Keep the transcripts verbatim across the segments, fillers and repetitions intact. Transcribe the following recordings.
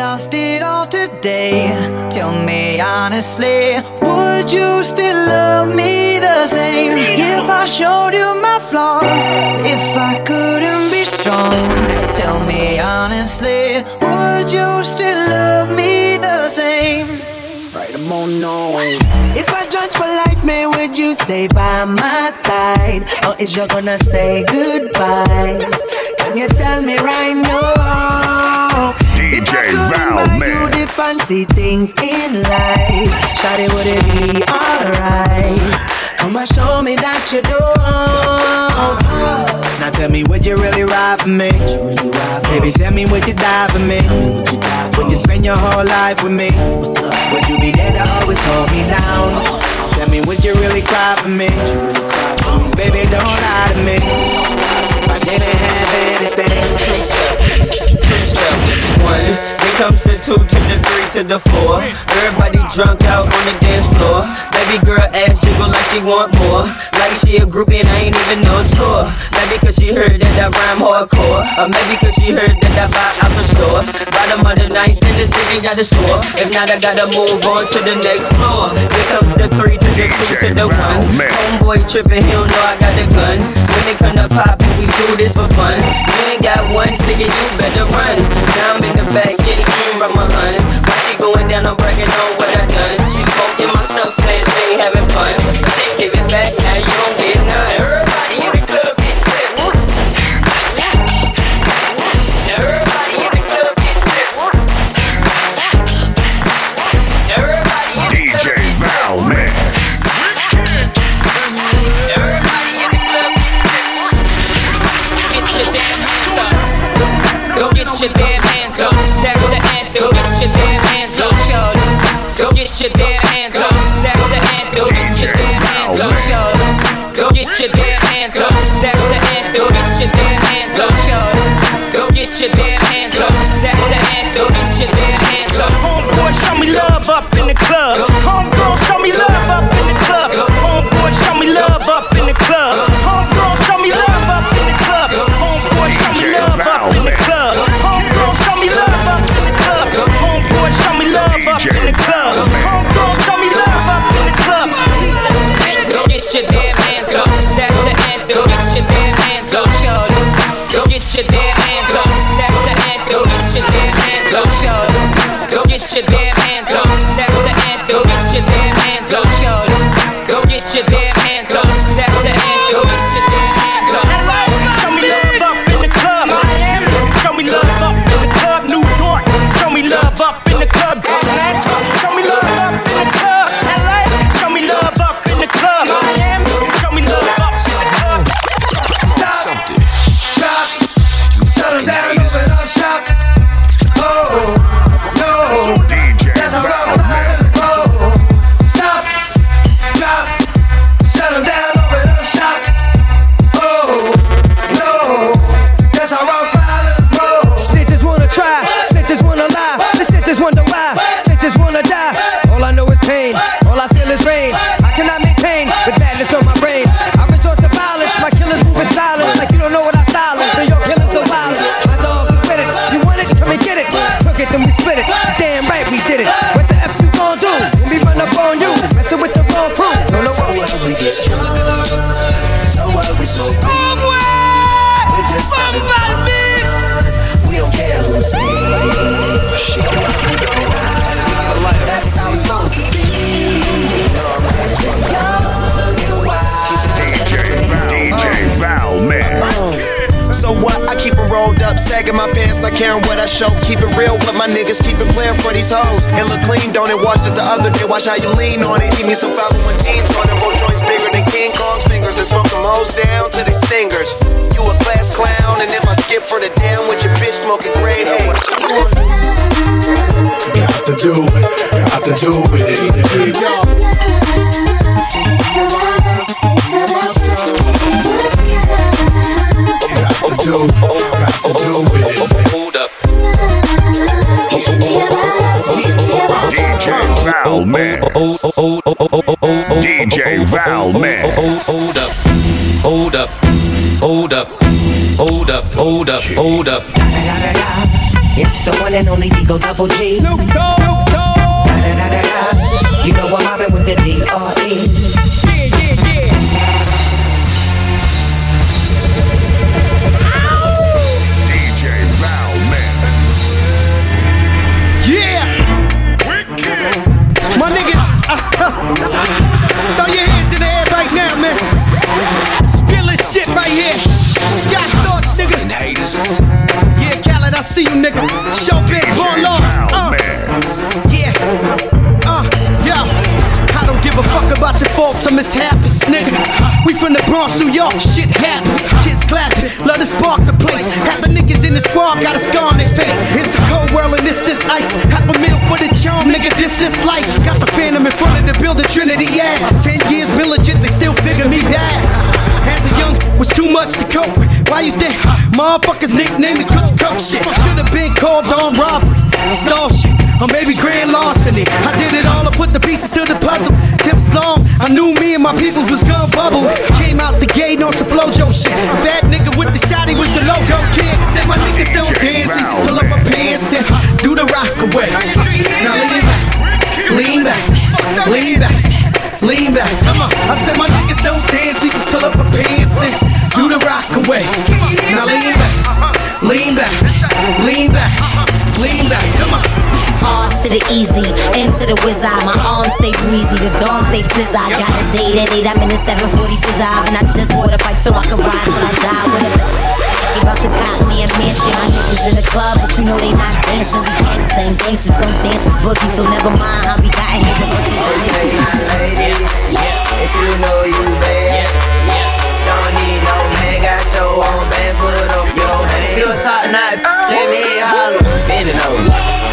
lost it all today, tell me honestly, would you still love me the same? If I showed you my flaws, if I couldn't be strong, tell me honestly, would you still love me the same? Right, I'm on no. If I judge for life, man, would you stay by my side? Or is you gonna say goodbye? Can you tell me right now? D J Val, man. You the fancy things in life, shawty, would it be alright? Come and show me that you do. Now tell me, would you really ride for me? Baby, tell me, would you die for me? Would you spend your whole life with me? Would you be there to always hold me down? Tell me, would you really cry for me? Baby, don't lie to me. If I didn't have anything. Two step one, then comes the two to the three to the four. Everybody drunk out on the dance floor. Baby girl ass jiggle like she want more, like she a groupie and I ain't even no tour. Maybe cause she heard that I rhyme hardcore, or maybe cause she heard that I buy out the stores. Bottom of the ninth in the city got the score. If not, I gotta move on to the next floor. Here comes the three to the two to the one. Homeboy tripping, he don't know I got the gun. When they come to pop, we do this for fun. You ain't got one ticket, you better run. Now I'm in the back getting clean from my hun. While she going down, I'm bragging on what I done. She smoking my stuff, saying she ain't having fun. She give it back, now you don't get none. Everybody in the club get tips. Everybody in the club get tips. Everybody in the club D J Val, man. Everybody in the club get tips. Get your damn hands up. Go get your damn hands up. That's the anthem. Get your damn hands up, shorty. Go get your damn hands up. That's the anthem. Get your damn hands up, shorty. Go get your damn hands up. That's the anthem. Get your damn hands up, shorty. Go get your damn hands up. That's the anthem. Get your damn hands up. Homeboy, show me love up in the club. Homegirl, show me love up in the club. Homeboy, show me love up in the club. Homegirl, show me love up in the club. Homeboy, show me love up in the club. Homegirl, show me love up in the club. Homeboy, show me love up in the club. Homegirl, show me love up in the club. Go get your damn hands up. That's the anthem. Get your damn hands up, shorty. Go get your damn hands up. That's the anthem. Get your damn hands up, shorty. Go get your damn hands up. That's the anthem. Get your damn hands up, shorty. Go get your damn hands up. That's the anthem. Get your damn hands up. Show me love up in the club. Miami. Show me love up in the club. New York. Show me love up in the club. Atlanta. Show me love up in the club. L A. Show me love up in the club. Miami. Show me love up in the club. Stop. Drop. Shut them down. Open up shop. Oh no. That's how rough riders roll. Stop. Drop. Shut them down. Open up shop. Oh no. That's how rough riders roll. Snitches wanna try, snitches wanna lie. The snitches wonder why, snitches wanna die. All I know is pain, all I feel is rain. I cannot maintain the badness on my brain. I resort to violence, my killers moving silent. Like you don't know what I style is, so your killers are wild. My dog is with it, you want it, come and get it. Took it, then we split it, damn right we did it. What the F you gon' do, when we run up on you? Messing with the wrong crew, don't know what we do. We get drunk, so what we smoke weed. We're just having fun. We don't care who sees. Shit, we don't ride. That's how it's supposed to be. Young and wild. D J Val, D J Val, man. So what? I keep it rolled up, sagging my pants, not caring what I show. Keep it real with my niggas, keep it playing for these hoes. It look clean, don't it? Watched it the other day, watch how you lean on it. Keep me some five oh one jeans on it, roll joints bigger than King Kong's fingers, and smoke them hoes down to their stingers. You a class clown, and if I skip for the damn with your bitch smoking grade A. You have to do it, you have to do it. Do, got to do with it. Hold up. D J Val, man. D J Val, man. Hold up. Hold up. Hold up. Hold up. Hold up. Hold up. It's the one and only Eagle Double G. Snoop Dogg, Snoop Dogg. Da, da, da, da, da. You know I'm mobbing with the D R E. Yeah, yeah, yeah. D J Val Man. Yeah! My niggas, uh, throw your hands in the air right now, man. Feel this shit right here. Scott Storch, nigga. Yeah, Khaled, I see you, nigga. Show big, born long. Uh, yeah. Uh, yo. I don't give a fuck about your faults or mishaps, nigga. We from the Bronx, New York, shit happens. Kids clapping, love to spark the place. Half the niggas in the squad got a scar on their face. It's a cold world and this is ice. Half a meal for the charm, nigga, this is life. Got the Phantom in front of the building, Trinity, yeah. Ten years been legit, they still figure me bad. As a young, was too much to cope with. Why you think motherfuckers nicknamed me Cook Cook shit? Should've been called on robbery, stall shit, or maybe grand larceny. I did it all, I put the pieces to the puzzle. Just as long, I knew me and my people was gonna bubble. Came out the gate on some Flojo shit. Bad nigga with the shotty was the logo kid. Said my niggas don't dance, he just pull up my pants and do the rock away. Now lean back, lean back, lean back, lean back. Come on, I said my niggas don't dance, he just pull up my pants and do the rock away. Now lean back, lean back, lean back, lean back. Come on. Hard to the easy, into the wizard. My arms stay breezy, the dawn stay fizz. I got a date at eight, I'm in the seven forty fizz. And I just bought a bike so I can ride till I die with a he about to cop me a mansion. My niggas in the club, but you know they not dancing. We gangsta and gangsters don't dance with boogies, so never mind how we got here. Okay, now ladies, if you know you bad, don't need no man, got your own bands, put up your hand. Feel top tonight, let me holler, bend it over.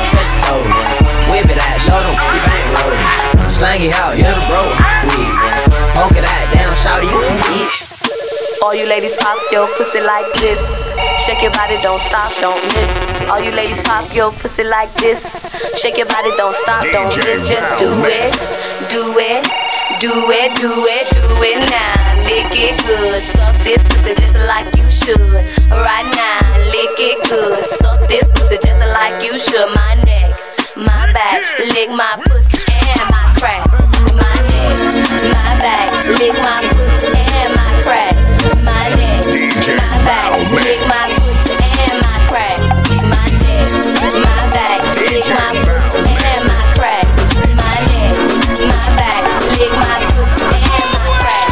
Whip it out, show them, you bang rollin'. Slang it out, hit the bro. Poke it out, down, shout it, you can eat. All you ladies pop your pussy like this. Shake your body, don't stop, don't miss. All you ladies pop your pussy like this. Shake your body, don't stop, don't miss. Just do it, do it, do it, do it, do it now. Lick it good, suck this pussy just like you should. Right now, lick it good, suck this pussy just like you should. My neck, my back, lick my pussy and my crack. My neck, my back, lick my pussy and my crack. My neck, my back, lick my pussy and my crack. My neck, my back, lick my pussy and my crack. My neck, my back, lick my pussy and my crack.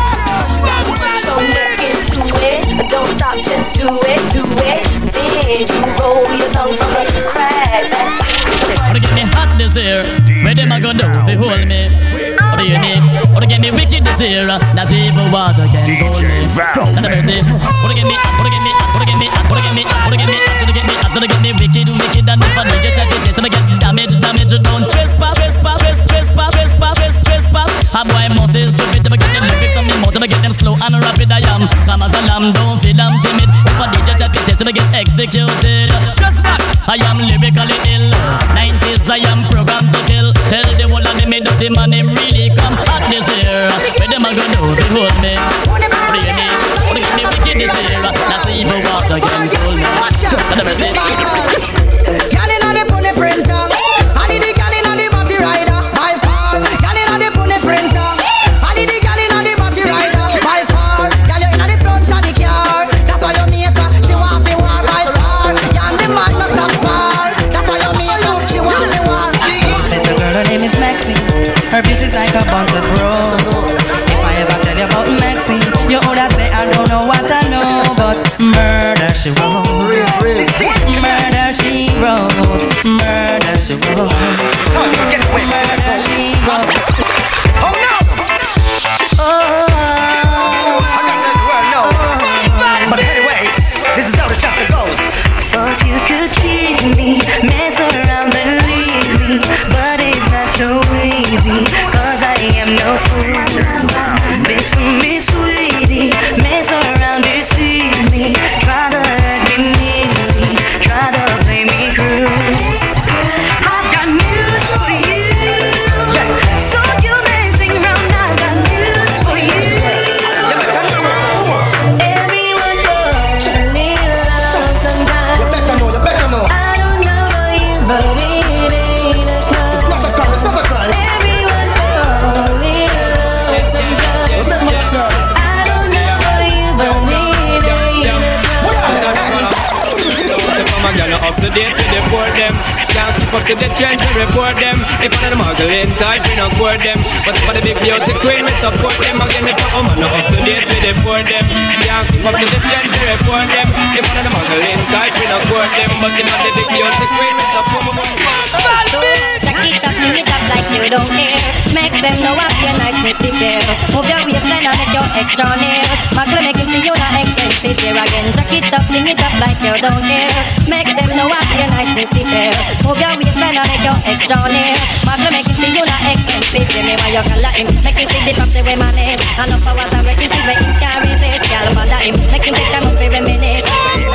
Put your neck into it, don't stop, just do it, do it. Then you roll your tongue from the crack. That's Wanna get me hot this year? Where them a gonna do if they hold me? What do you need? Wanna get me wicked this year? Not even water can hold me. Not a mercy. Wanna get me, wanna get me, wanna get me, wanna get me, wanna get me, wanna get me, wanna get me wicked, wicked, and if I need you, check it. Yes, I get damage, damage, don't trespass, trespass, trespass, trespass, trespass. A boy must is stupid, if I get them lyrics on me mouth, if I get them slow and rapid, I am. Come as a lamb, don't feel I'm timid. If I need you, check it. Yes, I get executed. Just back, I am lyrically ill. nineties, I am programmed to kill. Tell the whole of them me dirty man, him really come hot this year. Where them a go do to hold me? What do you need? What do you get me wicked this year? Not even water can hold me. Let me see. Girl inna the pony printer, I need the girl inna the body rider by far. Girl inna the pony printer, I need the girl inna the body rider by far. Girl you inna the front of the car, that's why you make her. She want me war by far. Girl the man no stop far, that's why you make her. She want me war. Little girl, her name is Maxine. Her beauty's like a bunch of rose. If I ever tell you about Maxine, you woulda say I don't know what I know, but murder she wrote. Murder she wrote. Murder she wrote. Murder she wrote. Oh no! Oh. But anyway, this is how the chapter goes. Thought you could cheat me, mess around and leave me, but it's not so easy, cause I am no fool. Listen me sweetie, mess around, deceive me, try to hurt me neatly, try to play me cruise. I've got news for you, so you messing around, I've got news for you. Everyone knows you need love sometimes. I don't up to date to deport them. Can't keep up to the trends and report them. If one of them muggling tight, we don't court them. But for the big beauty queen, we support them. Again, if a woman not up to date, we deport them. Can't keep up to the trends and report them. If one of them muggling tight, we don't court them. But if for the big beauty queen, we support them. So, take it up, bring it up like you don't care. Make them know what your nice misty fair. Move your waistline and make your extra near. Muggle make him see you not expensive here again. Take it up, bring it up like you don't care. Make them know what your nice misty fair. Move your waistline and make your extra near. Muggle make him see you not expensive here. Me why you call him. Make him see the props the way my name. And up hours I reckon see where he can resist. Y'all bother him. Make him take time up for reminisce.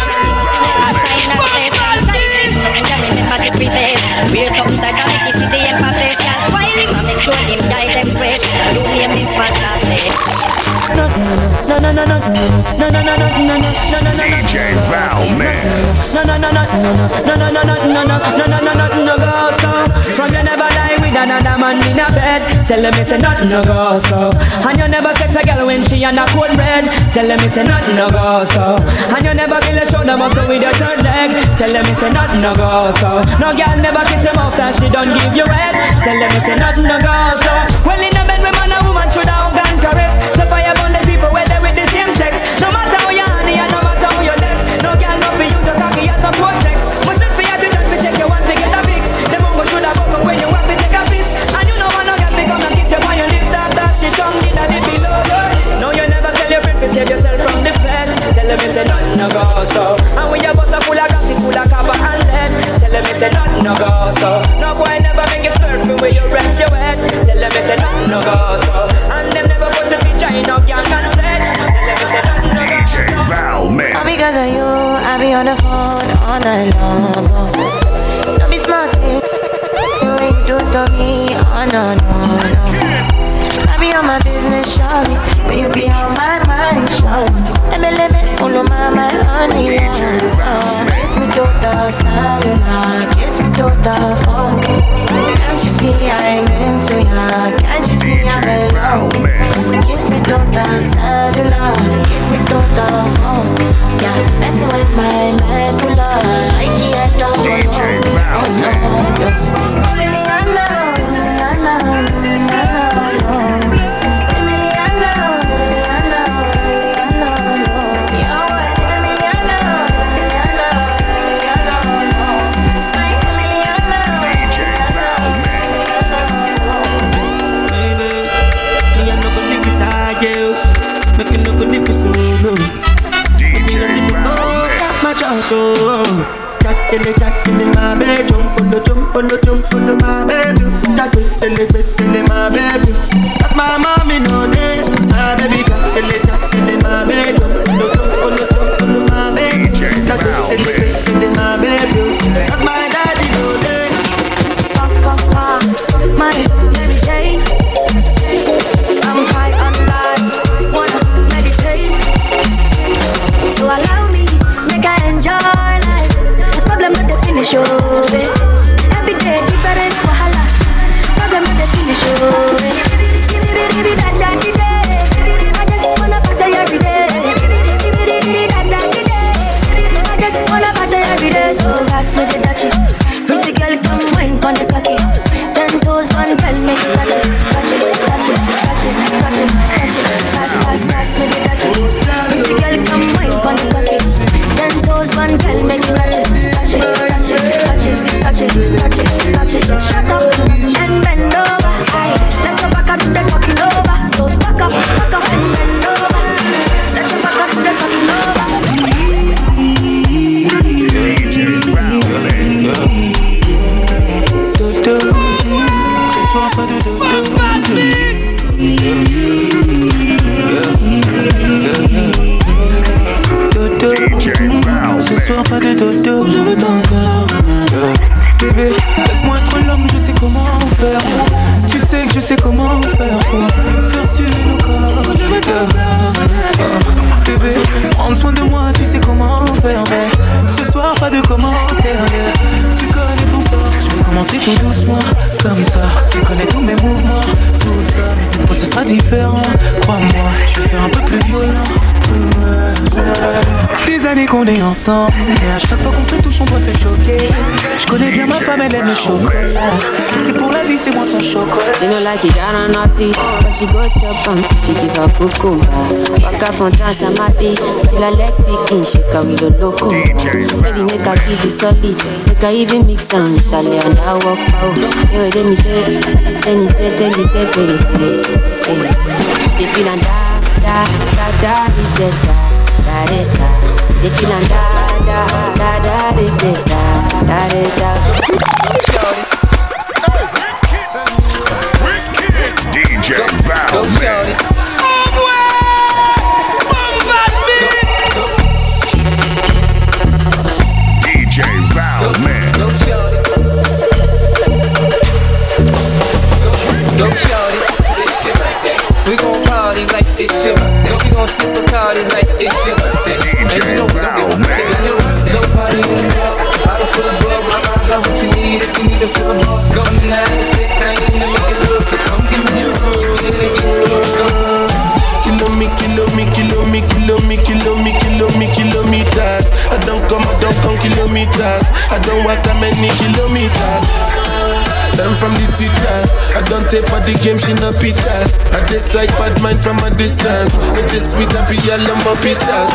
I sign a place. Something that remember the preface. Wear something tight and make you see the emphasis. Y'all spoil him and make sure him guide them fresh. You name is fantastic. No, no, no, no, no, no, no, no, no, no, no, no, D J Val Mix. No, no, no, no, no, no, no, no, no, no, no, no, no, no, no, go so. From you never lie with another man in a bed. Tell them it's a nothing no go so. And you never sex a girl when she on a cold bread. Tell them it's a nothing no go so. And you never feel a shoulder muscle with your third leg. Tell them it's a nothing no go so. No girl never kiss him off that she don't give you head. Tell them it's a nothing no go so. Well in a bed with man and woman should have gone caress. So fire burn the people where they with the same sex. No matter how you honey and no matter how you less. No girl no for you to cocky at some poor sex. But just for you to just be check your one to get a fix. The mumbo should have up when you have to take a piss. And you know when no girl become and kiss you on your lips. That that she tongue in the below. No you never tell your friend to save yourself from the feds. Tell them it's a nothing no go so. And when your bus are full of gas, full of copper and lead. Tell them it's a nothing no go so. No boy never make you swerve from where you rest your head. Tell them it's a nothing no go so. And them never put a feature in no gang and pledge. Tell them it's a nothing no go so. D J Val Mix. All because of you, I be on the phone all night long. Don't be smart, you ain't do to me. Oh no, no, no. I be on my business, shawty, but you be on my mind, shawty. Let me, let me, pull on my, my honey, oh. Kiss me to the cellular, kiss me to the phone. Can't you see I'm into ya? Can't you see I'm in love? Kiss me to the cellular, kiss me to the phone. Yeah, messing with my medulla. I can't do it. D J Val Mix. Jack in the jack in my bed, jump on the jump on the jump on the my baby. Jack in the bed in my baby. That's my mommy no day. My baby jack in the jack in my bed, jump on the jump on the jump on the my baby. Jack in the bed in my baby. That's my daddy no day. Puff puff pass, my Mary Jane. I'm high on life, wanna meditate. So allow me, make I enjoy life. There's problem with the finish of it. Every day different wahala. Problem with the finish of it. Give me the give that that day. I just wanna party every day. Give me the give that that day. I just wanna party every day. So pass me the dutchie. Pretty girl come wine pon the cocky. Ten toes one girl make it touch it, touch it, touch it, touch it, touch it, touch it. Pass pass pass me the dutchie. Pretty girl come wine pon the cocky. Ten toes one girl make it touch it, touch it, touch it, touch it, touch it, touch it, touch it. Shut up and bend over. Aye, let your back up to the talking over. So back up, back up and bend over. Let your back up to the talking over. Ce soir pas de dodo, je veux ton corps. Bébé, laisse-moi être l'homme, je sais comment faire. Tu sais que je sais comment faire pour faire suivre nos corps. Je veux ton corps. Bébé, prends soin de moi, tu sais comment faire. Mais ce soir pas de commentaires. Tu connais ton sort, je vais commencer tout doucement. Comme ça, tu connais tous mes mouvements. Tout ça, mais cette fois ce sera différent. Crois-moi, je vais faire un peu plus violent. Des années qu'on est ensemble, mais à chaque fois qu'on se touche on doit se choquer. Je connais bien ma femme, elle aime le chocolat, et pour la vie c'est moi son chocolat. She no like it, I don't naughty, but she go chop and pick it up cucumber. Waka from Transamati till I leg picking, she carry the loco. Baby make I give you solid, make I even mix am with a lay and I walk out. Hey, let me tell you, tell you, tell you, tell you, tell you. They feel and da da da da da da da da. They feel and da da da da da da da da. D J Val Man. D J Val Man. Go shout it, this shit right there. We gon' party like this shit right there. We gon' sip a party like this shit right there. D J Val Man. Go party in the club. I don't feel the bug, my mind got what you need. If you need to feel the bug, go nine to six, I ain't in the make it look. So come give me your food. Kilo me, kilo me, kilo me, kilo me, kilo me, kilo me, kilometers. I don't come, I don't come kilometers. I don't walk that many kilometers. Learn from the teacher. I don't take for the game, she no pitas. I decide bad mind from a distance. I just sweet and be a lumber pitas.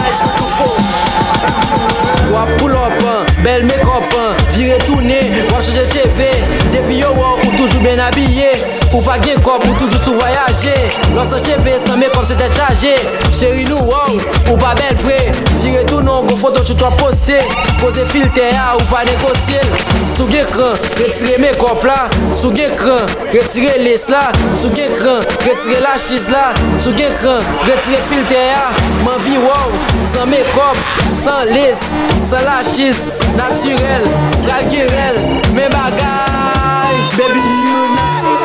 Wap pull up, belle make up, virer tourner, wap changer T V. Depuis yo ou toujours bien habillé, ou pas gain cop ou toujours sous voyager. Lorsque T V sans make up c'était chargé. Chérie nous wow, ou pas belle vrai. Virer tout non, go photo tu dois poster. Poser filtre ou pas négocier. Sous écran, retirer make up là. Sous écran, retirer lace là. Sous écran, retirer la chise là. Sous écran, retirer filtre m'en vie wow, sans make up, sans lace. Sans la chise, naturel, galguerel, mes bagailles, baby you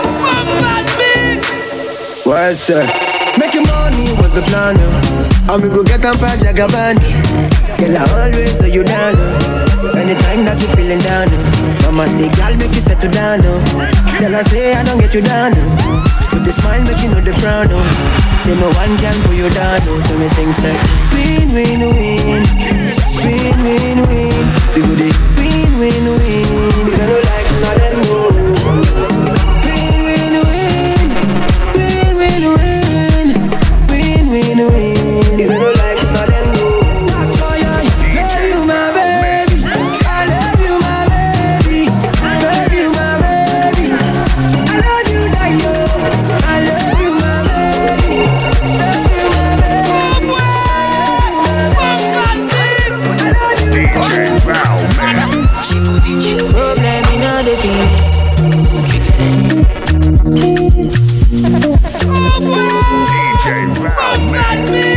know. What's up? Making money was the plan, uh. And we go get on Project Gabbana. Girl, I always say you down, uh. Anytime that you feeling down, uh. Mama say, girl, make you settle down, uh. Girl, I say, I don't get you down, uh. With the smile, make you know the frown, uh. Say no one can pull you down, uh. So me sing, say, win, win, win. Win, win, win. We go dey win, win, win. You don't like none of them more. Win, win, win. Win, win, win. Win, win, win. You don't like none of them more. That's why I love you, my baby. I love you, my baby. Love you, my baby. I love you like you. I love you, my baby. Love you, my baby. D J Val Man. Problem in all the things. D J Val Man.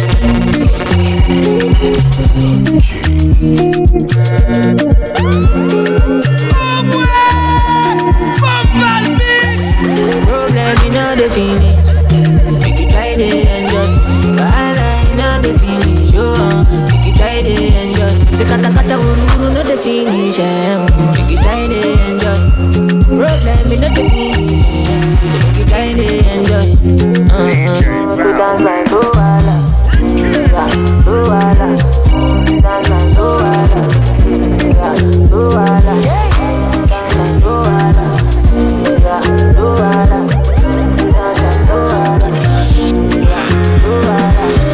Problem in all the finish. Make you try to enjoy. Bala in all the finish. Oh, make you try to enjoy. Say kata kata uru uru no the finish. Make you try to enjoy. Problem in all the finish. So make you try to enjoy. Uh-huh. We dance like Luala, Luala. We dance like Luala, Luala. Dance like Luala, Luala. We dance like Luala, Luala.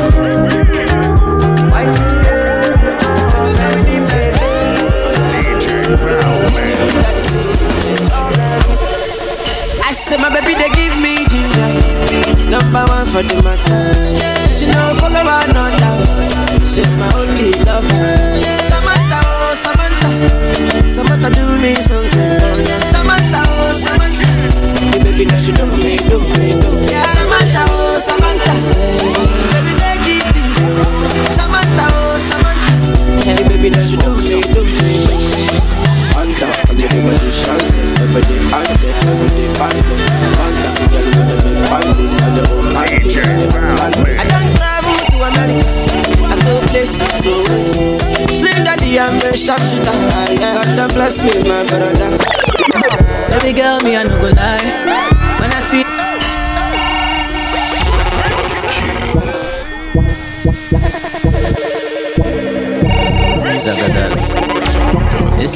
I said my baby they give me ginger. Number one for the matter. She no follow another. She's my only lover. Samantha, oh Samantha, Samantha do me something. Samantha, oh Samantha, hey, baby now she do me, do me, do me. Samantha, oh Samantha, baby take it easy. Samantha, oh Samantha, hey baby now she do me, do me. Anta, and everybody chance, everybody ante, everybody ante, anta, girl with the big panties and the old fanties and the panties. I don't travel to America, I go places so Slim Daddy, I'm a sharpshooter. God don't bless me, my brother. Baby girl, me I no go lie. When I see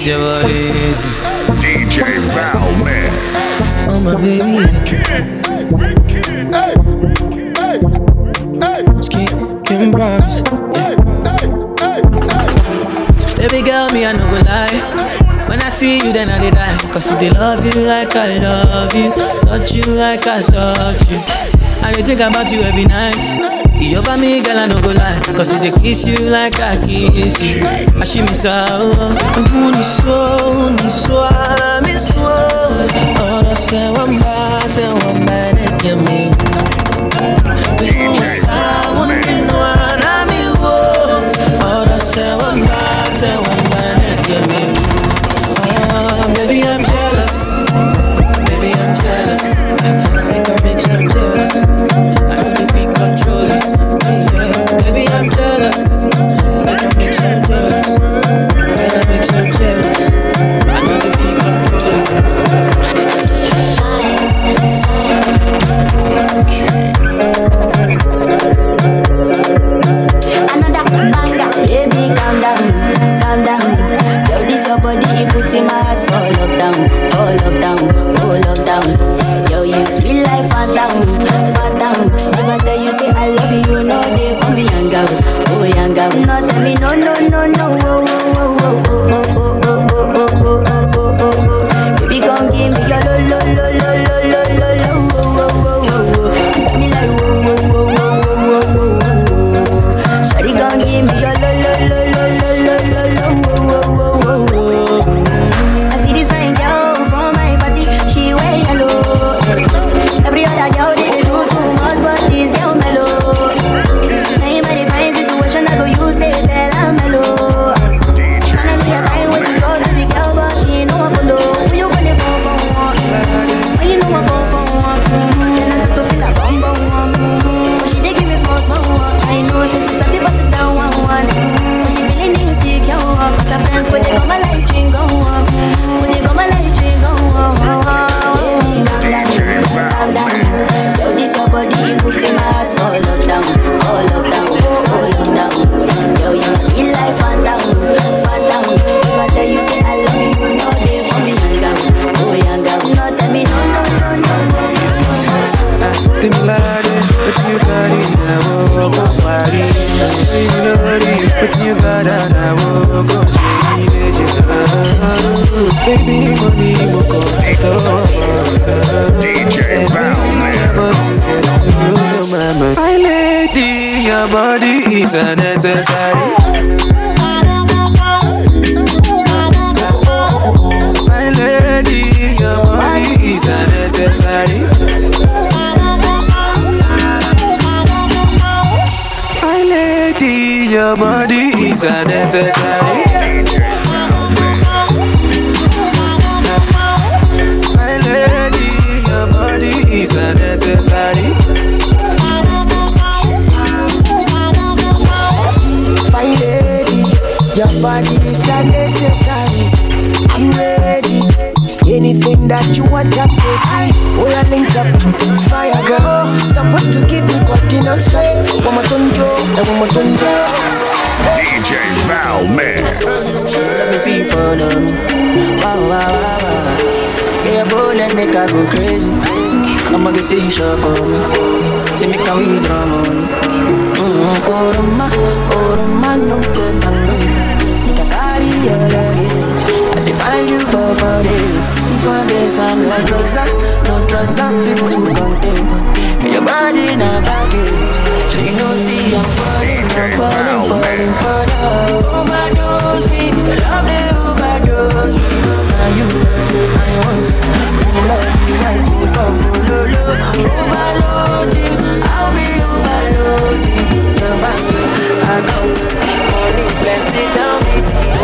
this your body easy. D J Val Mix. Oh my baby. Hey, hey, hey. Skin, Kim Browns. Baby girl, me I no go lie. When I see you, then I dey die. Cause they love you like I love you, touch you like I touch you. I dey think about you every night. You over me, girl, I no go lie. Cause they kiss you like I kiss you. I she miss out. Ni so, ni so, mi so. Ora se wamba, se wamba ne yami. Baby, sa wamba no ana mi wo. Ora se wamba, se wamba ne yami. Baby, I'm jealous. Baby, I'm jealous. Make her make some jealous. I know they feel control it. Yeah. Baby, I'm jealous. Make her make some jealous. Make her make some jealous. I know they feel control it. Another banger, baby, calm down, calm down. Yo, this your body, it puts in my heart for lockdown, for lockdown, for lockdown. Yo, you sweet life, phantom, phantom. If I tell you say I love you, you know they for me young girl, oh young girl. No tell me no, no, no, no, oh, oh, oh, oh, oh, oh, oh, oh, oh, oh, oh, oh, oh. Baby, come give me your lo, lo, lo, lo, lo, lo, lo, lo, oh, oh, oh, oh, oh. You got me like whoa, whoa, whoa, whoa, whoa, whoa, whoa. Shawty, come give me your lo, lo, lo, lo, lo, lo, lo, lo, oh, oh, oh, oh, oh. I see this fine girl from my party, she wear yellow. Every other girl they, they do too much, but this girl mellow. Now in my divine situation, I go use they tell her mellow. Finally I find way to talk to the girl, but she ain't no one follow. When you gonna phone for one? When you know I go for one? Then I start to feel like bum bum one. But she dey give me small small one. I know so she start to bust it down one one. But she feeling insecure, cause her friends go they go my light ring go on. When they go my light ring go on. Calm down, so this your body, it puts in my heart for lockdown, for lockdown, for lockdown. Yo, you sweet life, phantom, phantom. If I tell you say I love you, you know they for me young girl, oh young girl. No tell me no, no, no, no. Timilade, but you got it, I will go party. You know it, but you got it, I will go change it. Baby, money, will go D J Val Mix. My lady, your body is unnecessary. My lady, your body is unnecessary. My lady, your body is unnecessary. My lady, your body is unnecessary. My lady, your body is unnecessary. I'm ready. Anything that you want, I'm ready. Oh, I link up, fire girl. Supposed to give me continental strength. One more tunjo, and one more tunjo. D J Val Mix. Let me feel for them. Wow, wow, wow, wow. Yeah, boy, let me go crazy. I'ma get see you sure for me. Say me can we draw money. Mm-hmm. Oroma, oroma, no good tango. Make a carry your luggage. I define you for four days. For days I'm no drugs, no drugs I fit to contain. Your body in a baggage. So you know, see I'm falling, I'm falling, falling for love. Overdose me, your love they overdose me. Now you, I want to love you, I take off for lolo. Overloading, I'll be overloading. Your back, I count, money plenty, tell me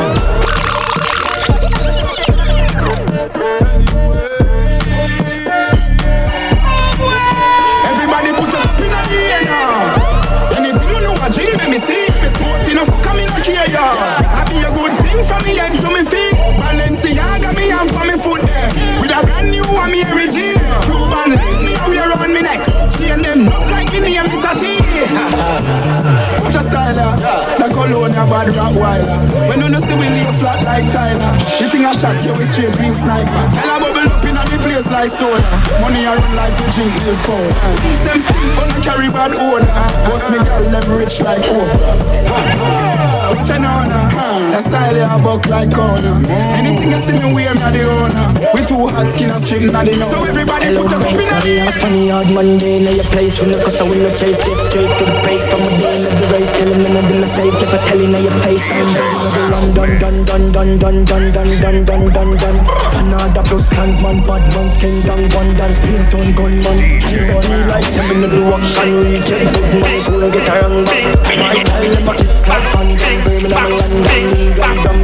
Everybody put it up in the air now. Anything you know, I dream, let me see. Me smoke, see no fuck, I'm in a care, yeah. I be a good thing from me head to me feet. Balenciaga me have for me foot there. With a brand new one, me regime. Cuban link me, we around me neck. alone, a bad Rottweiler. When you know see we lay flat like Tyler. You think I shot you with straight green sniper. Girl, I bubble up in the place like soda. Money I run like a drink milk cold. Them still gonna carry bad odor. Boss me girl, them rich like Oprah. What you know now? That style you a buck like corner. Anything you see me wear, me the owner. We two hot skin and straight na the know. So everybody put up in the air. Funny hard money day in your place. When you cause I will not chase. Get straight to the face. From a day in the race. Tell him none of them are safe. If I tell you now your face. I'm done, done, done, done, done, done, done, done, done, done, done, done. Another plus clansman, bad man's kingdom. Wonders, paint on gunman. I'm funny like seven of the action. Reject big money. So I get a wrong back. My style them a kick like fun. Birmingham and London. Legal dumb.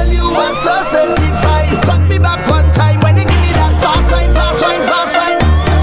Certified. Cut me back one time when you give me that fast wine, fast wine, fast wine.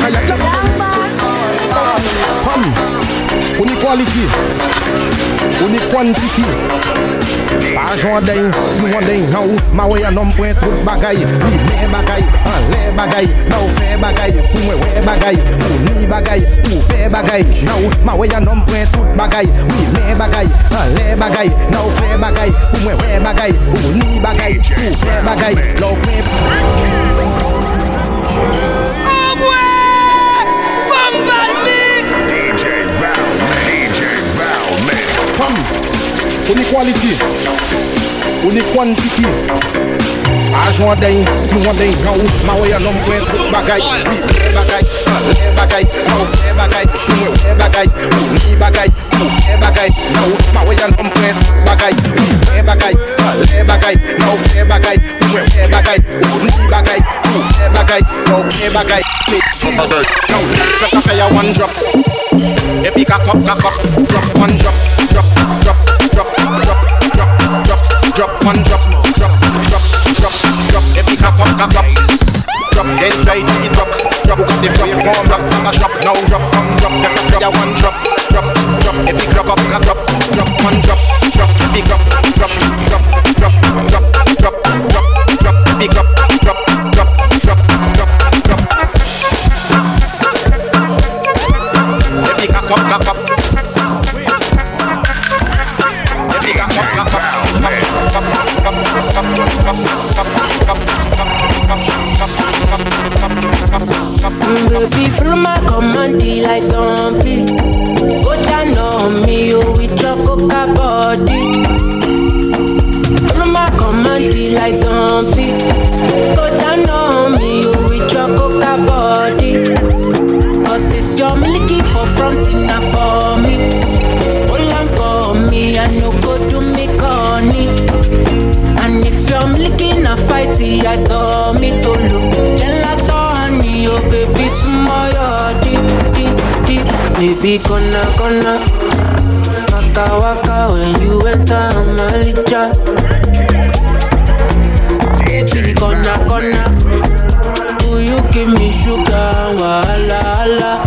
On y quality, on y quantity. Pas joint d'un, nous on d'un how. Ma way a nom point tout bagaille. Oui, mais bagaille, en les bagaille. Now fait bagaille, pour moi ouais bagaille. Pour ni bagaille, pour faire bagaille. Now ma way a nom point tout bagaille. Oui, mais bagaille, en les bagaille. Now fait bagaille, pour moi ouais bagaille. Pour ni bagaille, pour faire bagaille. Now fait on est quality, on est quantity. Pas joint d'un, nous on d'un how. Ma way a nom point tout bagaille. Oui, fait bagaille, les bagaille. Now fait bagaille, pour moi ouais bagaille. Pour ni bagaille, pour faire bagaille. Now ma way a nom point tout bagaille. Oui, fait bagaille, les bagaille. Now fait bagaille, pour moi ouais bagaille. Pour ni bagaille, pour faire bagaille. Now fait bagaille. Now just a fire one drop. Epic cock up, cock up, drop one drop, drop, drop, drop, drop, drop, drop, drop one drop, drop, drop, drop, drop. Epic cock up, cock up, drop. Then try to drop, drop. Got the flame warm up, a drop now, drop, come drop. Just a fire one drop, drop, drop. Epic drop up, cock up, drop one drop, drop. Epic drop, drop, drop, drop, drop, drop, drop, drop. Epic drop, drop, drop, drop, drop, drop. Epic cock up, cock up. Baby, follow my command like zombie. Go down on me, oh, with your coca body. Follow my command like zombie. Go down on me, oh, with your coca body. Cause this your milky for fronting now for me. Hold on for me, I no go do me corny. And if you're looking a fighty, I saw me to look. Gelato honey, oh baby, smile, deep, deep, deep. Baby, gonna, gonna. Waka, waka, when you enter my licha. Baby, gonna, gonna. Do you give me sugar, wala, wala.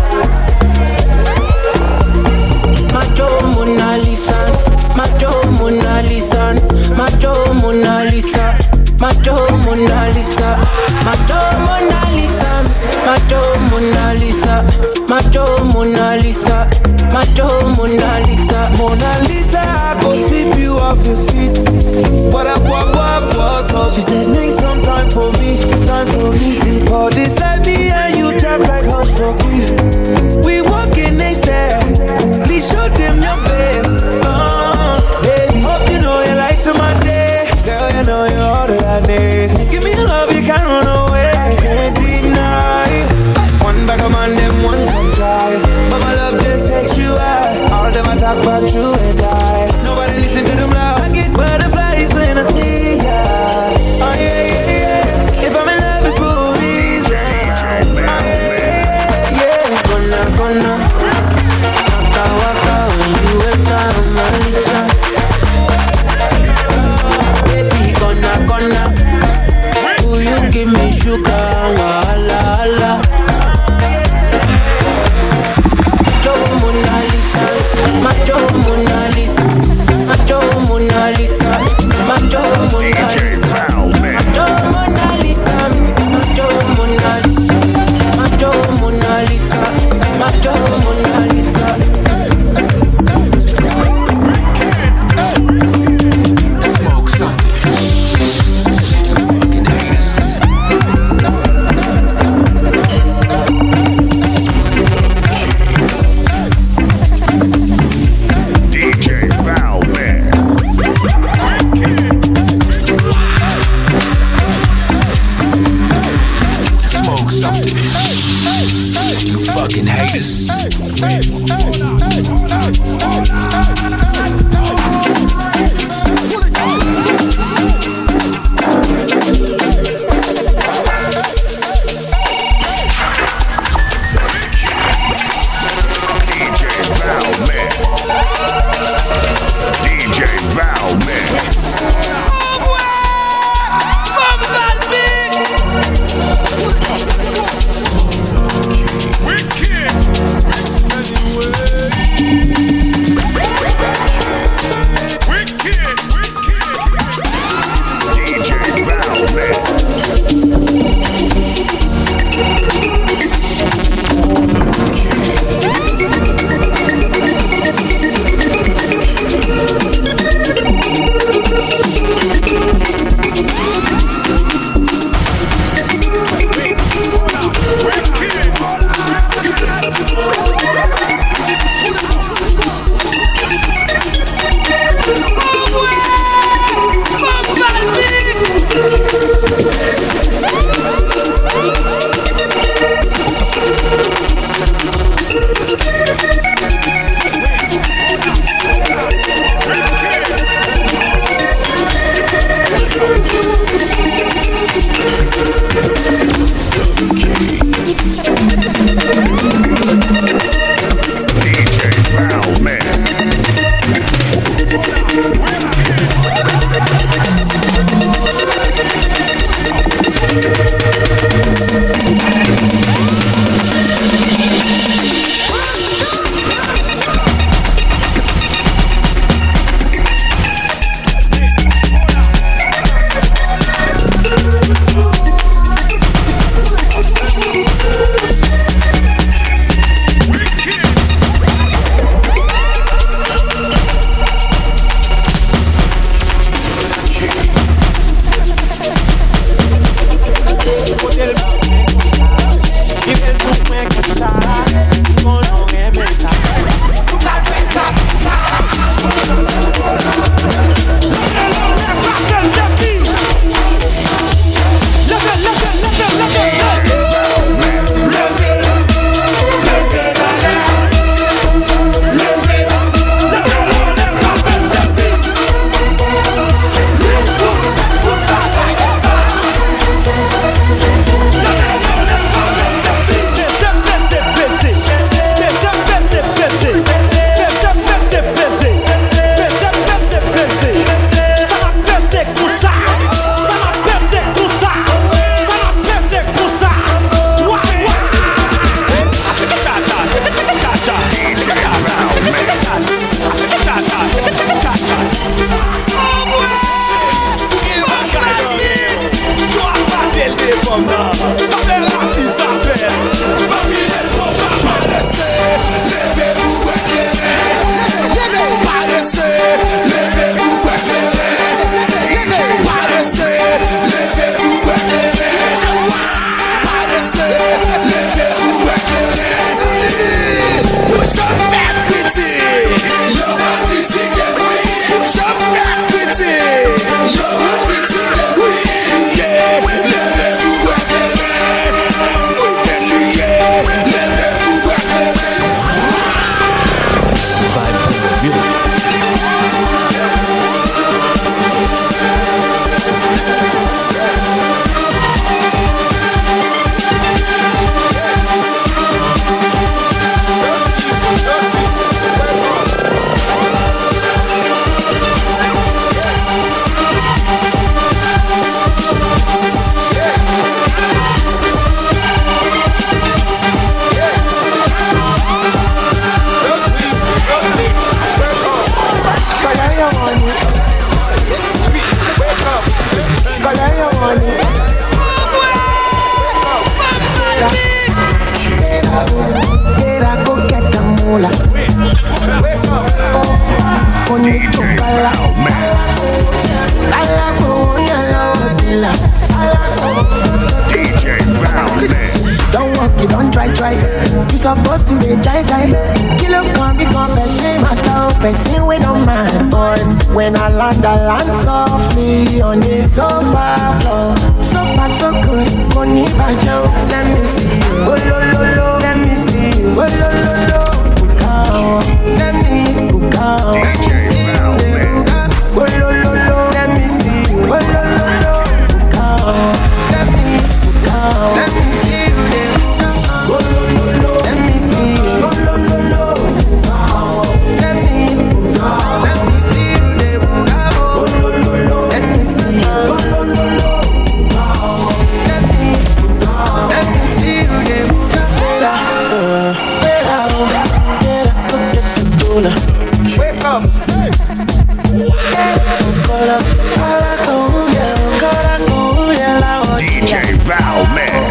Macho Mona Lisa, Macho Mona Lisa, Macho Mona Lisa, Macho Mona Lisa, Macho Mona Lisa, Macho Mona Lisa, Macho Mona Lisa, Macho Mona Lisa, Mona Lisa, I go sweep you off your feet. What up, what up, what's up? She said make some time for me, time for me. Sleep for this side me and you trap like hush for me. We walking next step, please show them your best. Uh, baby, hope you know you like to my day. Girl, you know you're all that I need. Give me the love, you can't run away. I can't deny. One back of man, them one come try. But my love just takes you out. All of them I talk about you and I. Nobody listen to them loud. I get butterflies when I see ya. Oh yeah, yeah, yeah. If I'm in love, it's for a reason. Oh yeah, yeah, yeah. Gonna, gonna. Waka, waka, when you enter my licha. Baby, gonna, gonna. Do you give me sugar, wala, wala. Macho Mona Lisa, Macho Mona Lisa, Macho Mona Lisa, Macho Mona Lisa, Macho Mona Lisa, Macho Mona Lisa, Macho Mona Lisa, Macho Mona Lisa. Smoke something. Fucking haters. D J Valmez. Smoke something. You fucking haters. D J Valmez. D J Valman. Don't walk, you don't try, try. You supposed to be jai jai. Kill up, come become person, matter, person we don't mind. But when I land, I land softly on the sofa floor. So far, so good. Money bajo, let me see you. Oh lo lo lo, let me see you. Oh lo lo lo, bukao, let me bukao. Let me see you, bukao. Oh lo lo lo, let me see you. Oh lo lo lo, bukao, let me bukao. Let me see you. Let me see you. Let me, let me see you. Let me see you. Let me, let me see you. Better, better, go get the dollar. Wake up. D J Valman.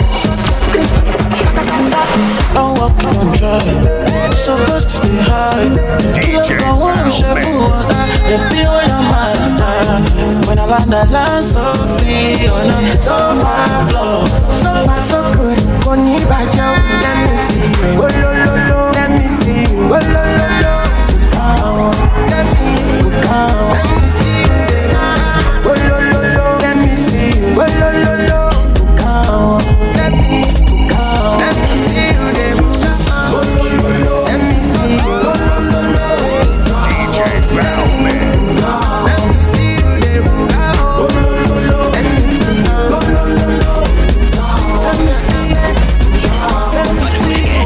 Don't walk, don't drive. Supposed to stay high. D J I wanna share food. You see when I'm mad. When I land, I land so free on a sofa floor. So far, so good. Money bajo, let me see you. Oh lo lo lo, let me see you. Oh lo lo lo, bukao, let me bukao. Let me see you. Oh lo lo lo, let me see you. Oh lo lo lo, bukao, let me bukao. Let me see you. Oh lo lo lo, let me see you. Oh lo lo lo, D J Valman. let me see you. Oh lo lo lo, let me see you. Oh lo lo lo, let me see you. Let me see you.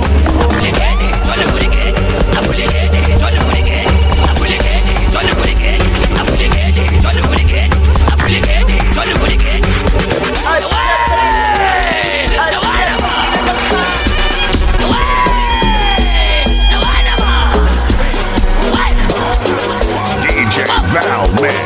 D J Valman.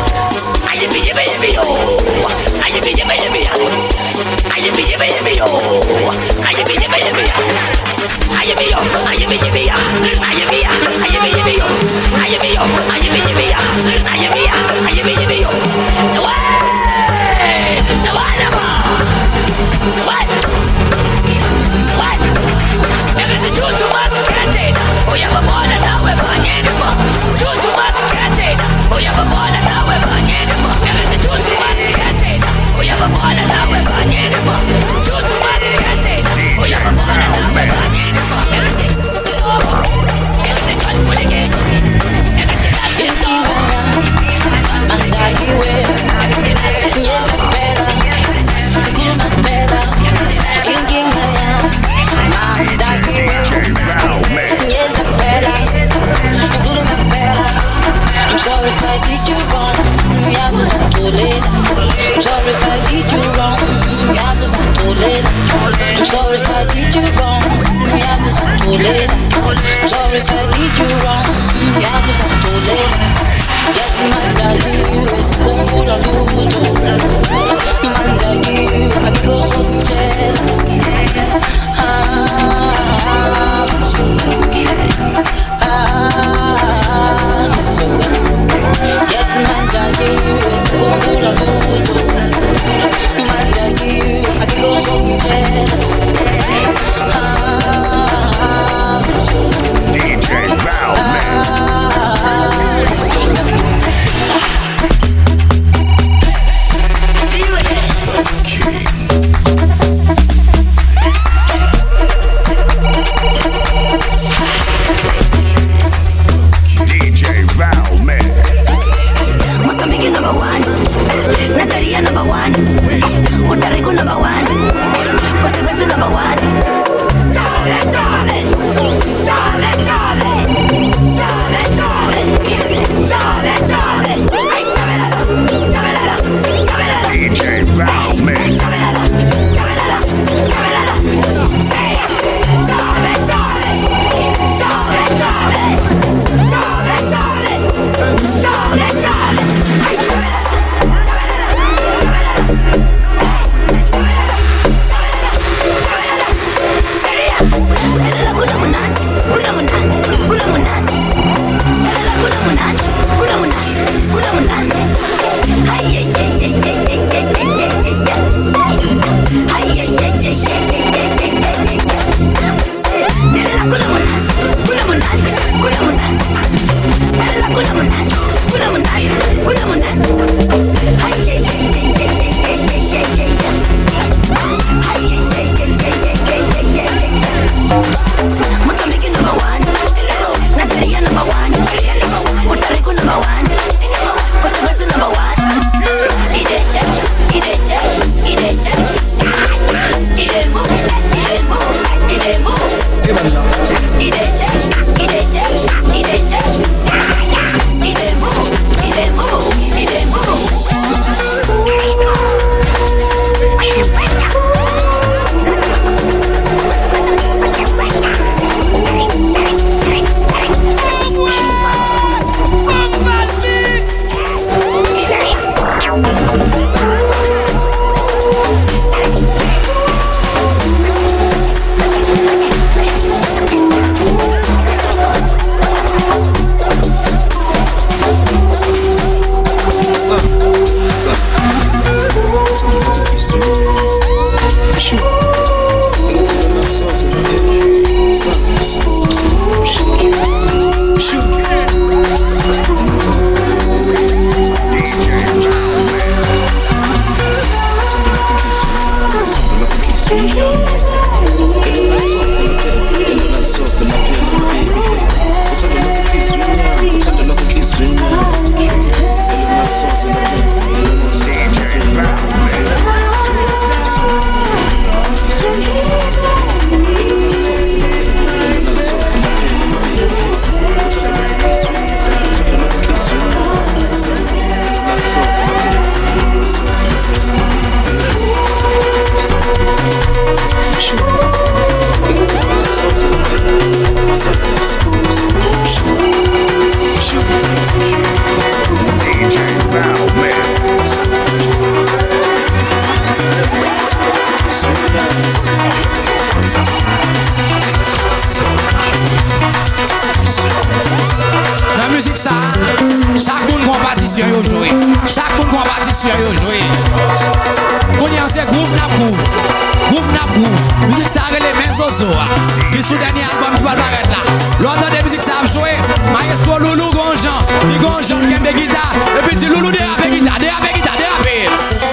partition yo joué. Chaque monde prend partition yo joué. Qu'on c'est groove na groove. Groove na groove. Musique ça les mains zozo. Qui sous dernier album qui va paraître là. L'autre des musiques ça a joué. Maestro Loulou Gonjan. Li Gonjan qui aime des guitares. Et puis petit Loulou dérape guitare, dérape guitare, dérape.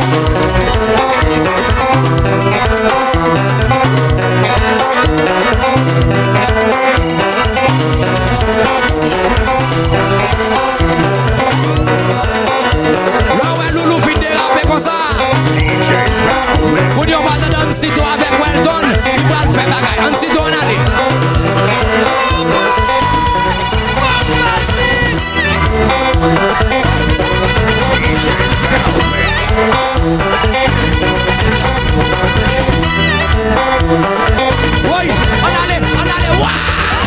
Là ouais Loulou fin déraper comme ça. Pour dire on va te donner un site avec Weldon. Il va le faire bagaille. Un site on a dit. Oui, on allait, on allait, waouh!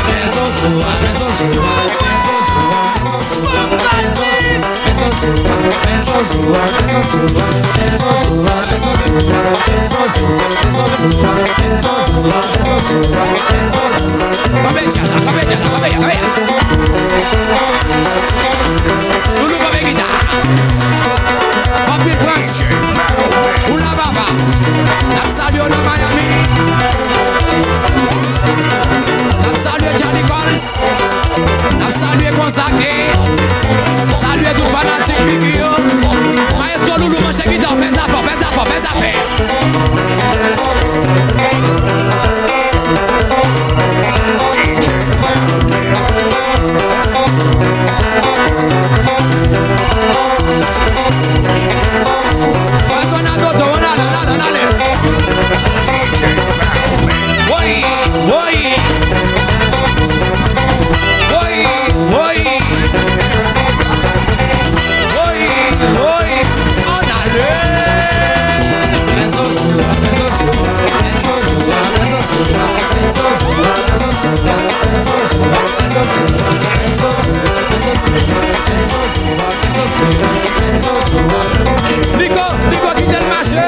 Loulou comme guitare. Papi Prince. Oula Baba. La salut de Miami. La salut Johnny Collins. La salut consacré. Salut tout fanatique Bigio. Maestro Loulou mange guitare. Fais ça fort, fais ça fort, fais ça faire. Nico, Nico qui t'aime marcher.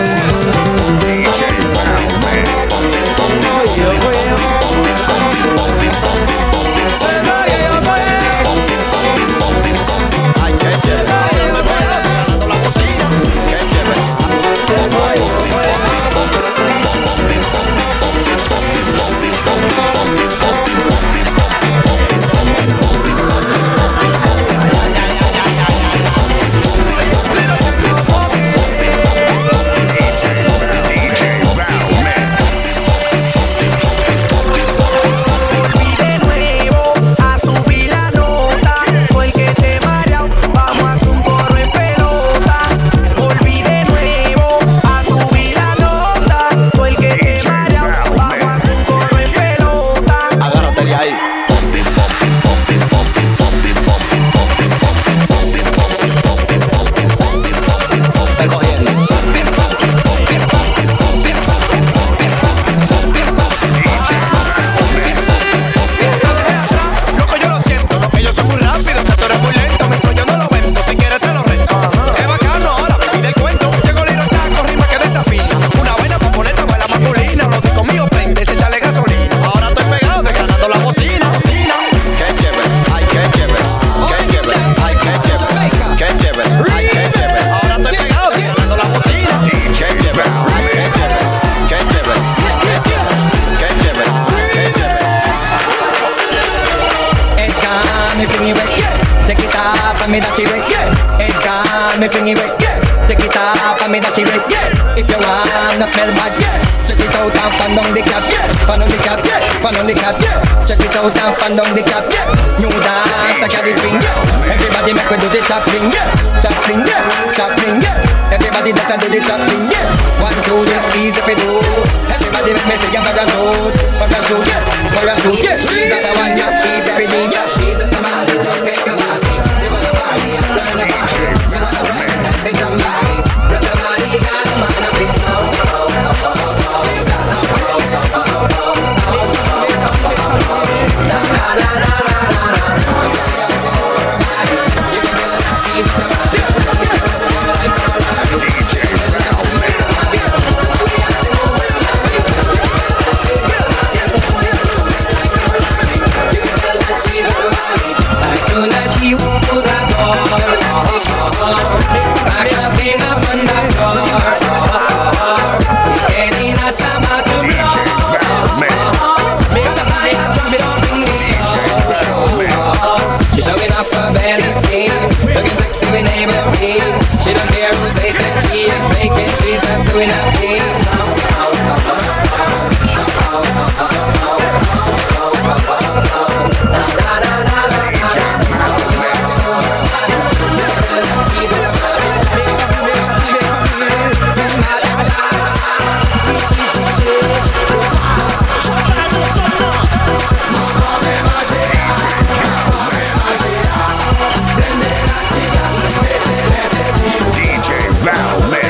me that she wet, yeah. Head gone, me fling it wet, yeah. Take it off, and me that she wet, yeah. If you wanna smell bad, yeah. Check it out and fan down the cap, yeah. Fan on the cap, yeah. Fan on the cap, yeah. Check it out and fan down the cap, yeah. New dance, I carry swing, yeah. Everybody make we do the chopping, yeah. Chopping, yeah. Chopping, yeah. Everybody dance and do the chopping, yeah. One, two, three, easy for do. Everybody make me say I'm parachute, parachute, yeah. Parachute, yeah. She's at the one, yeah. She's everything, yeah. She's at the man, the jump, make a pass. She wanna party, turn the party. She wanna ride and dance and jump back. Run the body, got a man up in snow. Na na na na na na. She's at the man. doing a thing. D J Val Mix.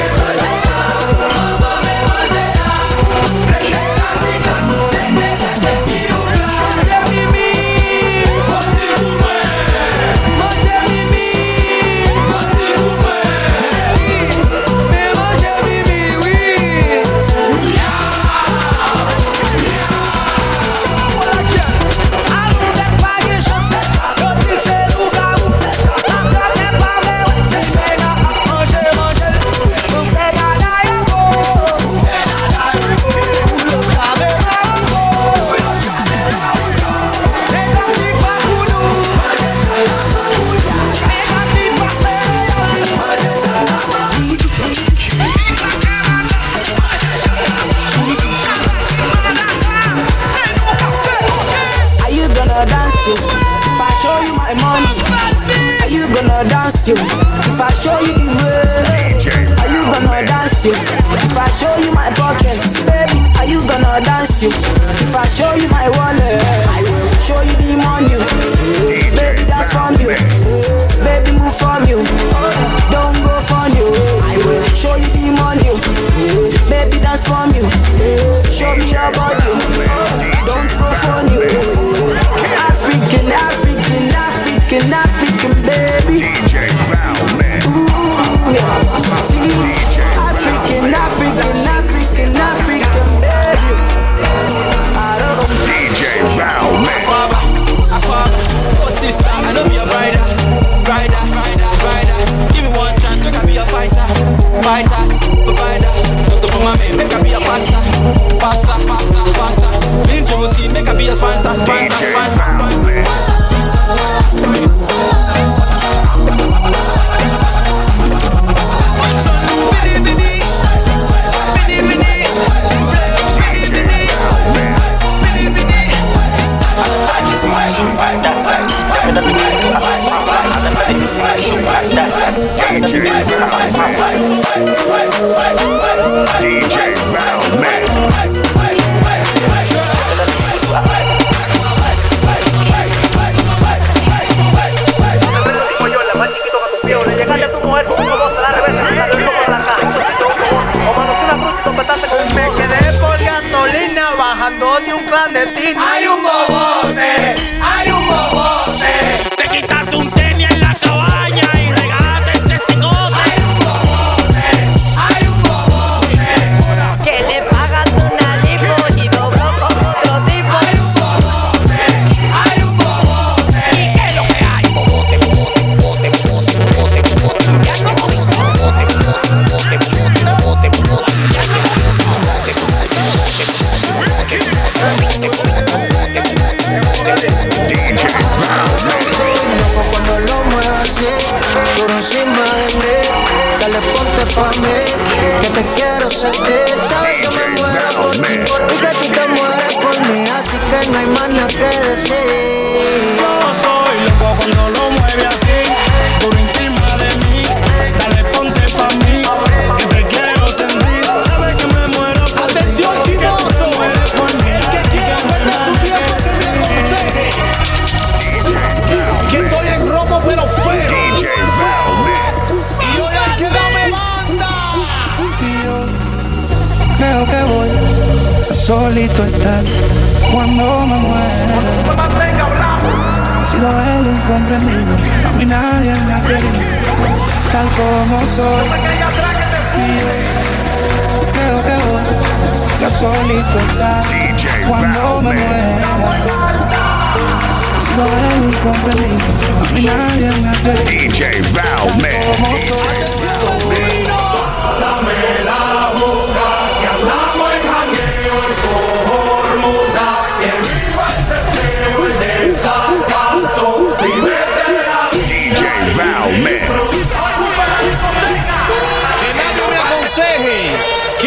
Are you gonna dance you? If I show you my money, are you gonna dance you? If I show you the way, are you gonna dance you? If I show you my pockets, baby, are you gonna dance you? If I show you my wallet, I will show you the money. Baby, that's from you. Baby, move from you. Don't go from you. I will show you the money. Baby, that's from you. Show me your body. Don't go from you. African, African, African, African, baby. D J Val Mix. Ooh, yeah. See, African, African, African, African, baby. I don't know. D J Val Mix. Oh sister, I know be a rider, rider, rider, rider. Give me one chance, make I be a fighter, fighter, provider. Doctor for my man, make I be a pastor, pastor, pastor, pastor. Bill Jewelty, make I be a sponsor, sponsor, sponsor. D J Val Mix. Me quedé por gasolina bajando de un clandestino. Hay un bobote, hay un bobote. Te quitaste un tenis en la cabaña y regalaste ese cigote. Hay un bobote, hay un bobote. Que le pagas una lipo y dobló con otro tipo. Hay un bobote, hay un bobote. ¿Y qué es lo que hay? Bobote, bobote, bobote, bobote, bobote, bobote. Ya no bobote, bobote, bobote, bobote, bobote, bobote. Ya no bobote, bobote, D J Val Mix. Loco cuando lo muevas así, duro encima de mí. Dale ponte pa' mí, que te quiero sentir. Sabes que me muero por ti y que tú te mueres por mí, así que no hay más nada que decir. Yo soy loco cuando lo mueve así, duro encima de mí. Dale ponte pa' mí, que te quiero sentir. Sabes que me muero por ti, atención chicos, que tú te mueres por mí, que aquí que no hay más nada que decir. Que estoy en robo pero feo. D J Val Mix. Y yo le que dame banda. Creo que voy a solito estar cuando me muera. He sido el incomprendido, a mí nadie me ha querido, tal como soy. Y yo creo que voy a solito estar cuando me muera. He sido el incomprendido, a mí nadie me ha querido. D J Val Mix. Dame la boca que hablamos en jangueo por muda. Que viva este feo, el desacato. D J Val Mix. Que nadie me aconseje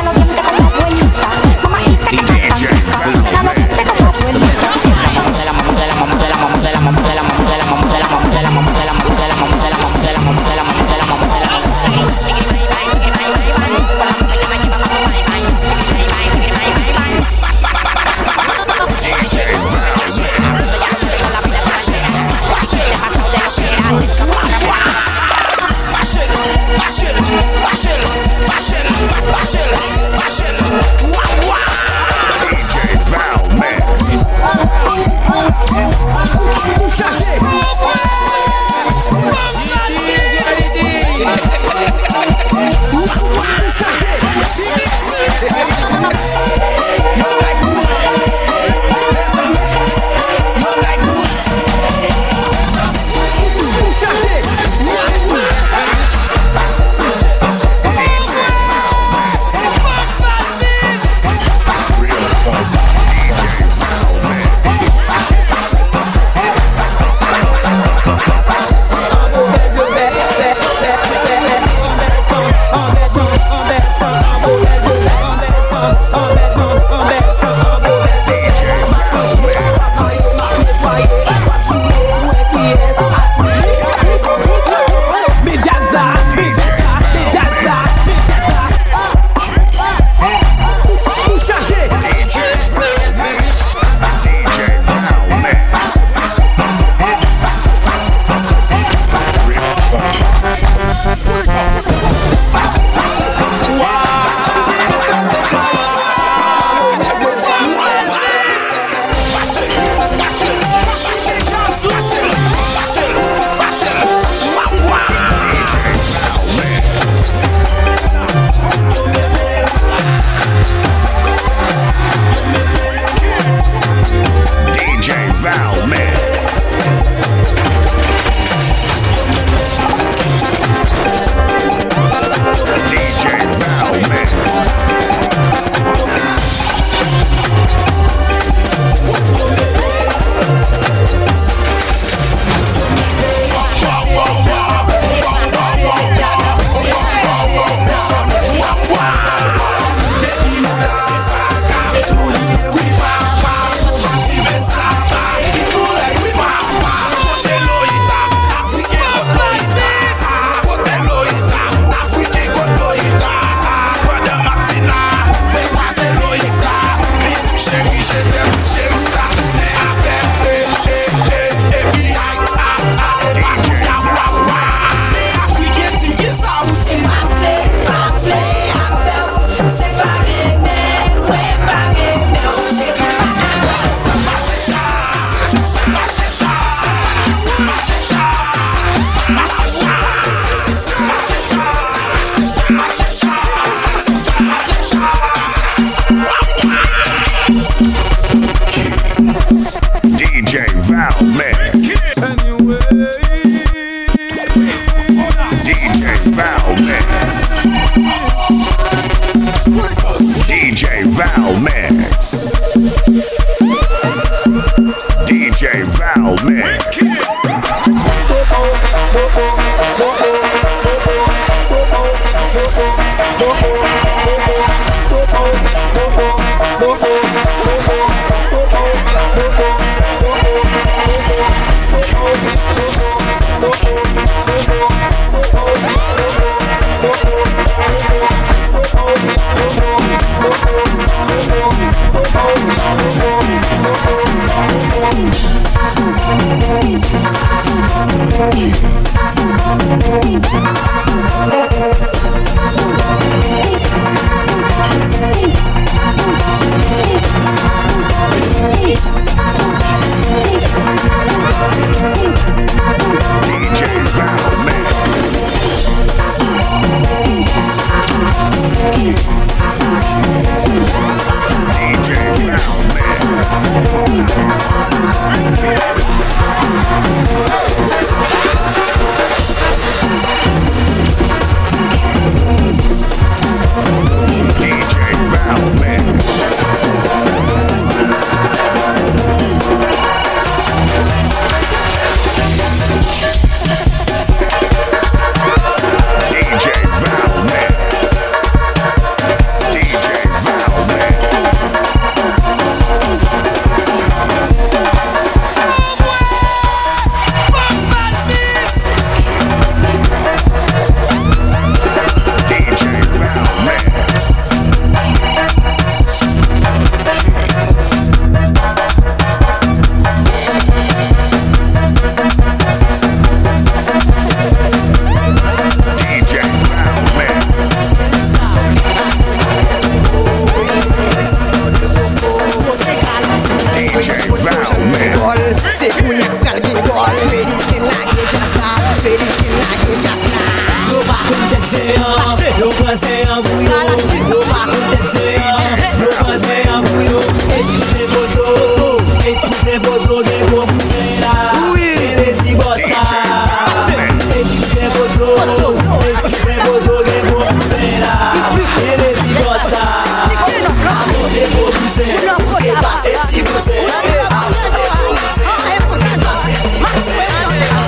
saca los dientes como abuelita. Mamacita que está tan rica, saca los dientes como abuelita. La mamá de la mamá de la mamá de la mamá de la mamá de la mamá de la mamá de la mamá de la mamá de la mamá de la mamá de la mamá de la mamá de la mamá de la mamá de la mamá. D J Val Mix. D J Val Mix. D J Val Mix. D J Val Mix.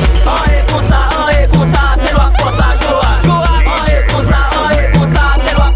Consa,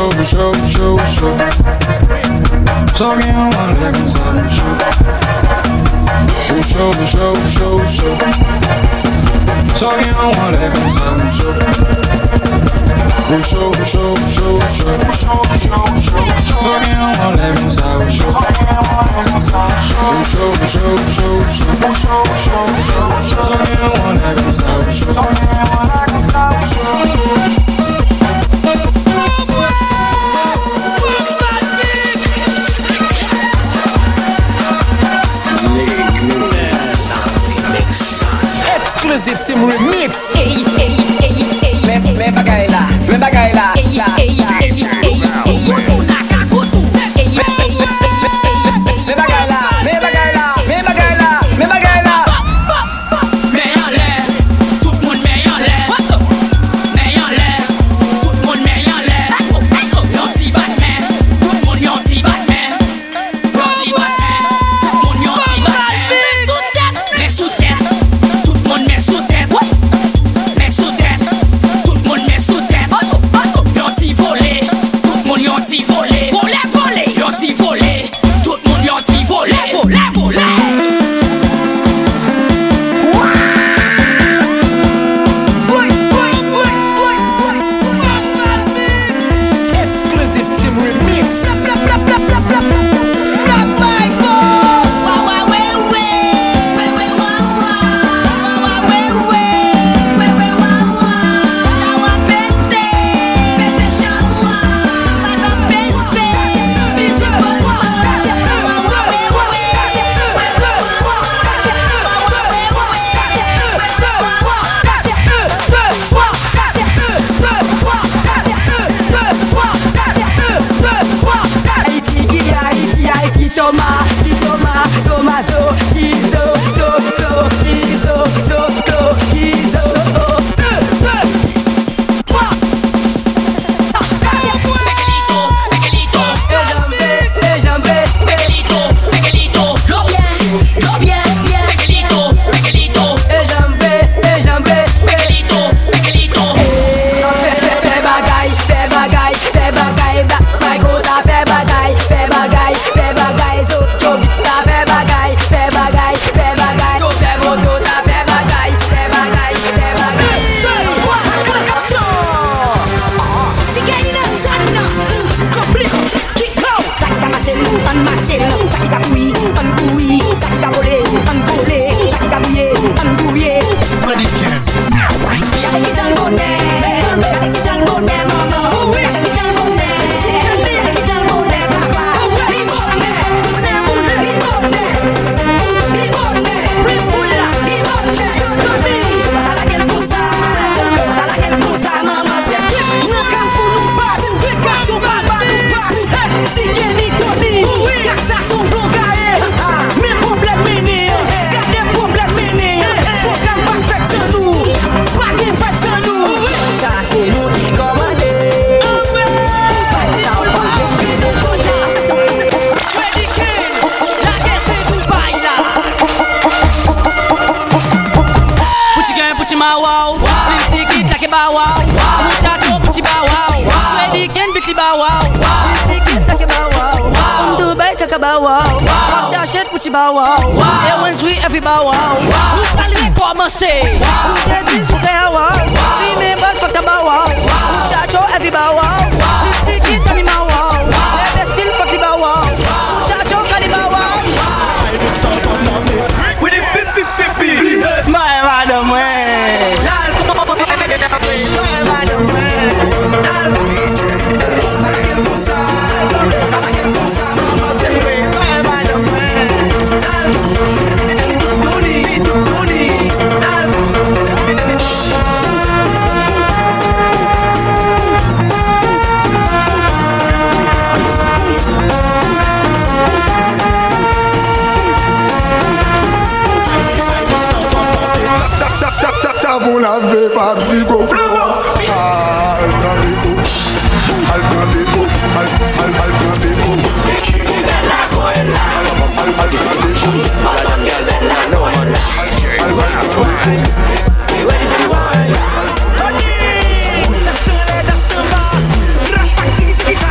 chaud, chaud, chaud, chaud. So bien, on va aller comme ça, chaud. Chaud, chaud, chaud, chaud. So bien, on va aller comme ça, chaud. Chaud, chaud, chaud, chaud. Chaud, chaud, chaud, chaud. So bien, on va aller comme ça, chaud. Chaud, chaud, chaud, chaud. Chaud, chaud, chaud, chaud. So bien, on va aller comme ça, chaud. So bien, on va aller comme ça, chaud. Exclusive Team Remix. Hey, hey, hey, hey. Me, me bagay la, me bagay la. Hey, hey, hey, hey, hey. Me bagay la, me bagay la, me bagay la, me bagay la. Mets en l'air, tout le monde met en l'air. Mets en l'air, tout le monde met en l'air. Yanti Batman, tout le monde yanti Batman. Yanti Batman, tout le monde yanti Batman. Mets sous tête, tout le monde met sous tête. Mets sous tête, tout le monde met sous tête. Yanti volé, tout le monde yanti volé. Volé, volé, yanti volé, tout le monde yanti volé. Volé, volé. Exclusive Team Remix. Toma, toma, toma, so, kizo, so, so, kizo, so, so, kizo, so. Miguelito, Miguelito, Ejambe, ejambe, Miguelito, Miguelito, lo bien, lo bien, bien. Miguelito, Miguelito, ejambe, ejambe, Miguelito, Miguelito. fais bagay, fais bagay, fais bagay, black my goda, fais bagay, fais bagay, fais bagay, so, so, ta fais bagay, fais bagay, fais bagay, so, fais moto, ta fais bagay, fais bagay, fais bagay. Sakita machine, un machine, sakita bouille, un bouille, sakita volé, un volé, sakita bouillé, un bouillé. Y'a des gens bonnets, y'a des gens bonnets, maman, y'a des gens bonnets, y'a des gens bonnets, papa. Li bonnet, li bonnet, li bonnet, li bonnet. T'as la gueule pour ça, t'as la gueule pour ça, maman, c'est bien. Nous qu'à fou nous battre, nous qu'à son battre, si Jenny Tony, car ça son bon gaé. Mes problèmes menés, car des problèmes menés. Programme pas fait sans nous, pas bien fait sans nous. Ça c'est nous qui commandons. Ça on va faire des choses. La guerre c'est Dubaï là. Puti gang, puti ma wow. Lisi kit like a bow wow. Muchacho puti bow wow. Ready can bitty bow wow. Lisi kit like a bow wow. From Dubai kaka bow wow. Rock that shit puti bow wow. Et when sweet every bow wow. Who's calling commencer? Who's that this who can wow? Remember fuck the bow wow. Muchacho every bow wow. Lisi kit and my wow. They still fuck the bow wow. Muchacho call the bow wow. With the pip pip pip pip. My madam way. Pour la vie, pas petit go. Al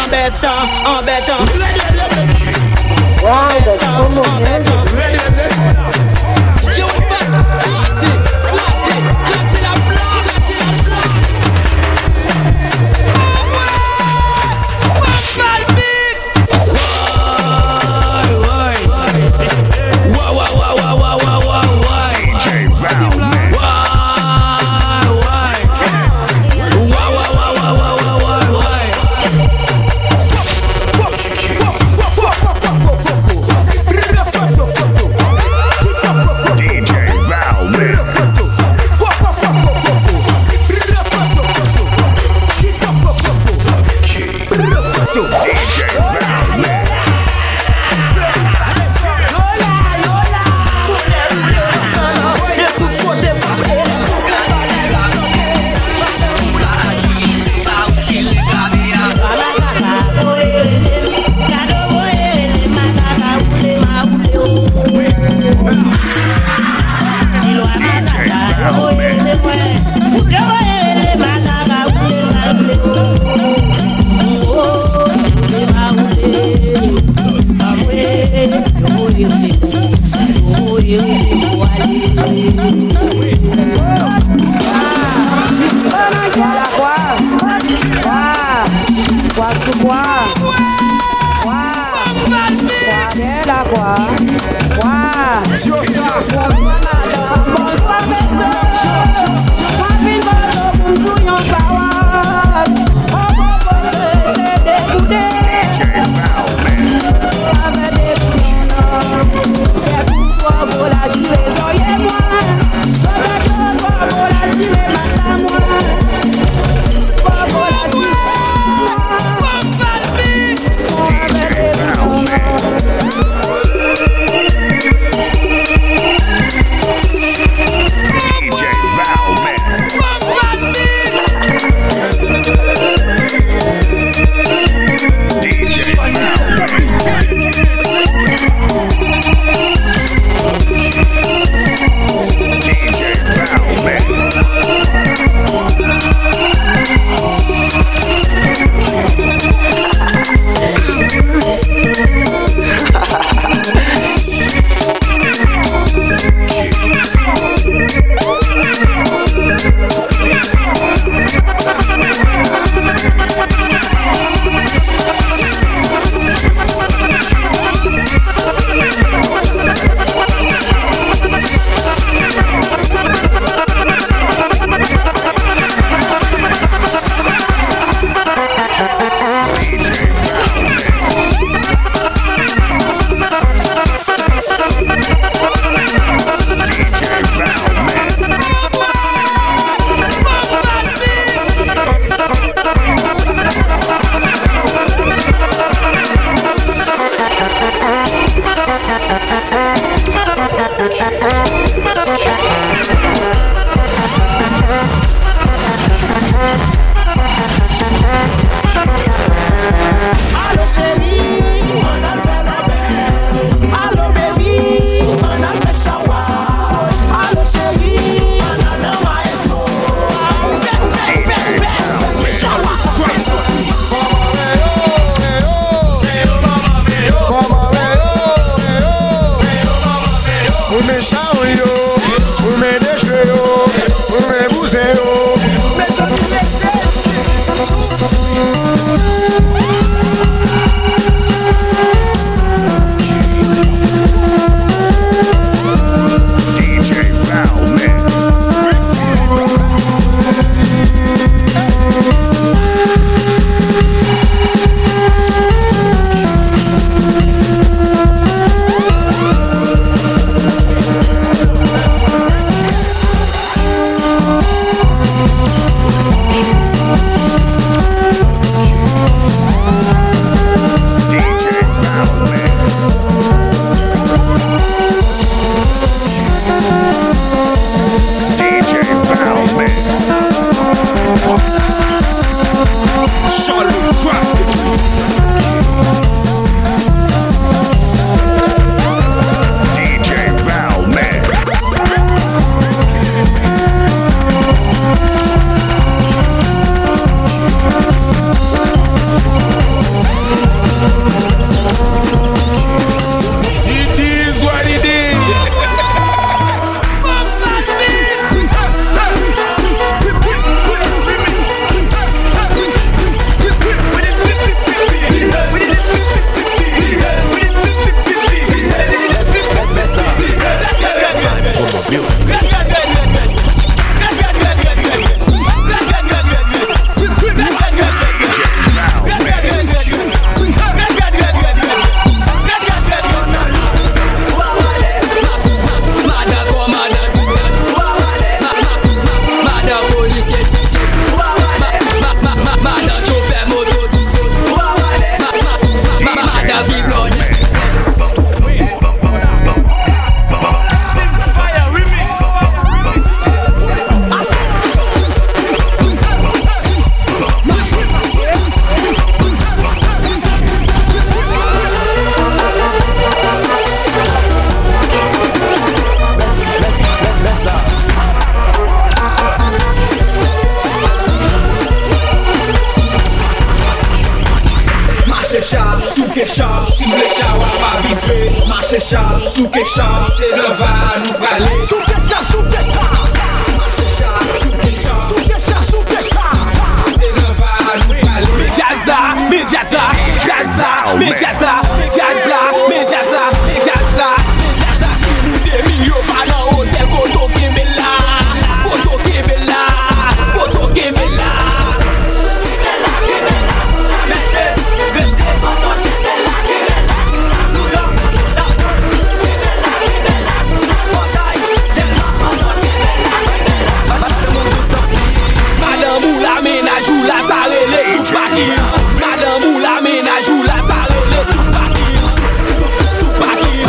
embêtant, embêtant. Wow, that's so music. Bye. Marche chat, sous que chat, si le chat va pas vivre. Marche chat, sous que chat, c'est le va nous parler. Sous que chat, sous que chat. Marche chat, sous que chat, sous que chat, sous que chat, c'est le va nous parler. Me jazza, me jazza, jazza, me jazza, jazza, me jazza, me jazza, me jazza. Si vous des millions pas dans hôtel, koto kebela, koto kebela, koto kebela. Madame ou la ménage ou la salée, les tout paquis. Madame ou la ménage ou la salée, les tout paquis. Tout paquis,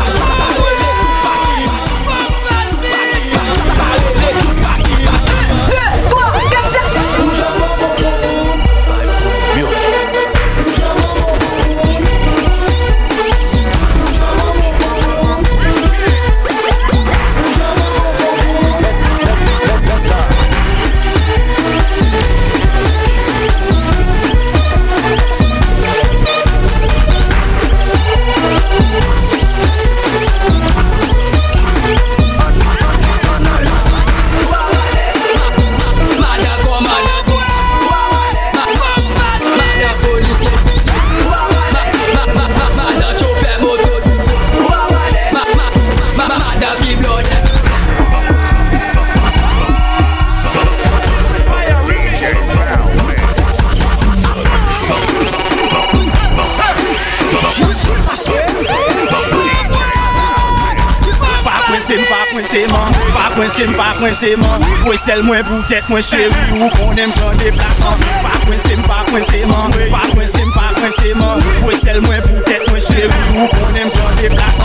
pas coincé, pas coincé, man. Oui, c'est moins pour tête, moins chéri, ou qu'on aime prendre des places. Pas coincé, pas coincé, man. Pas coincé, pas coincé, man. Oui, c'est moins pour tête, moins chéri, ou qu'on aime prendre des places.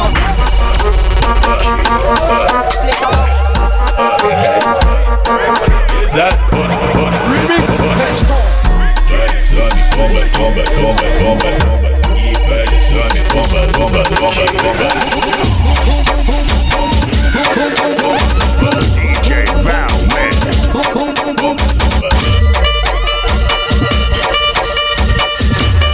Is that what, what, remix? Let's go. Sonny, come back, come back, come back, come back. Yeah, baby, Sonny, come back, come back, come back, come back. D J Val Mix.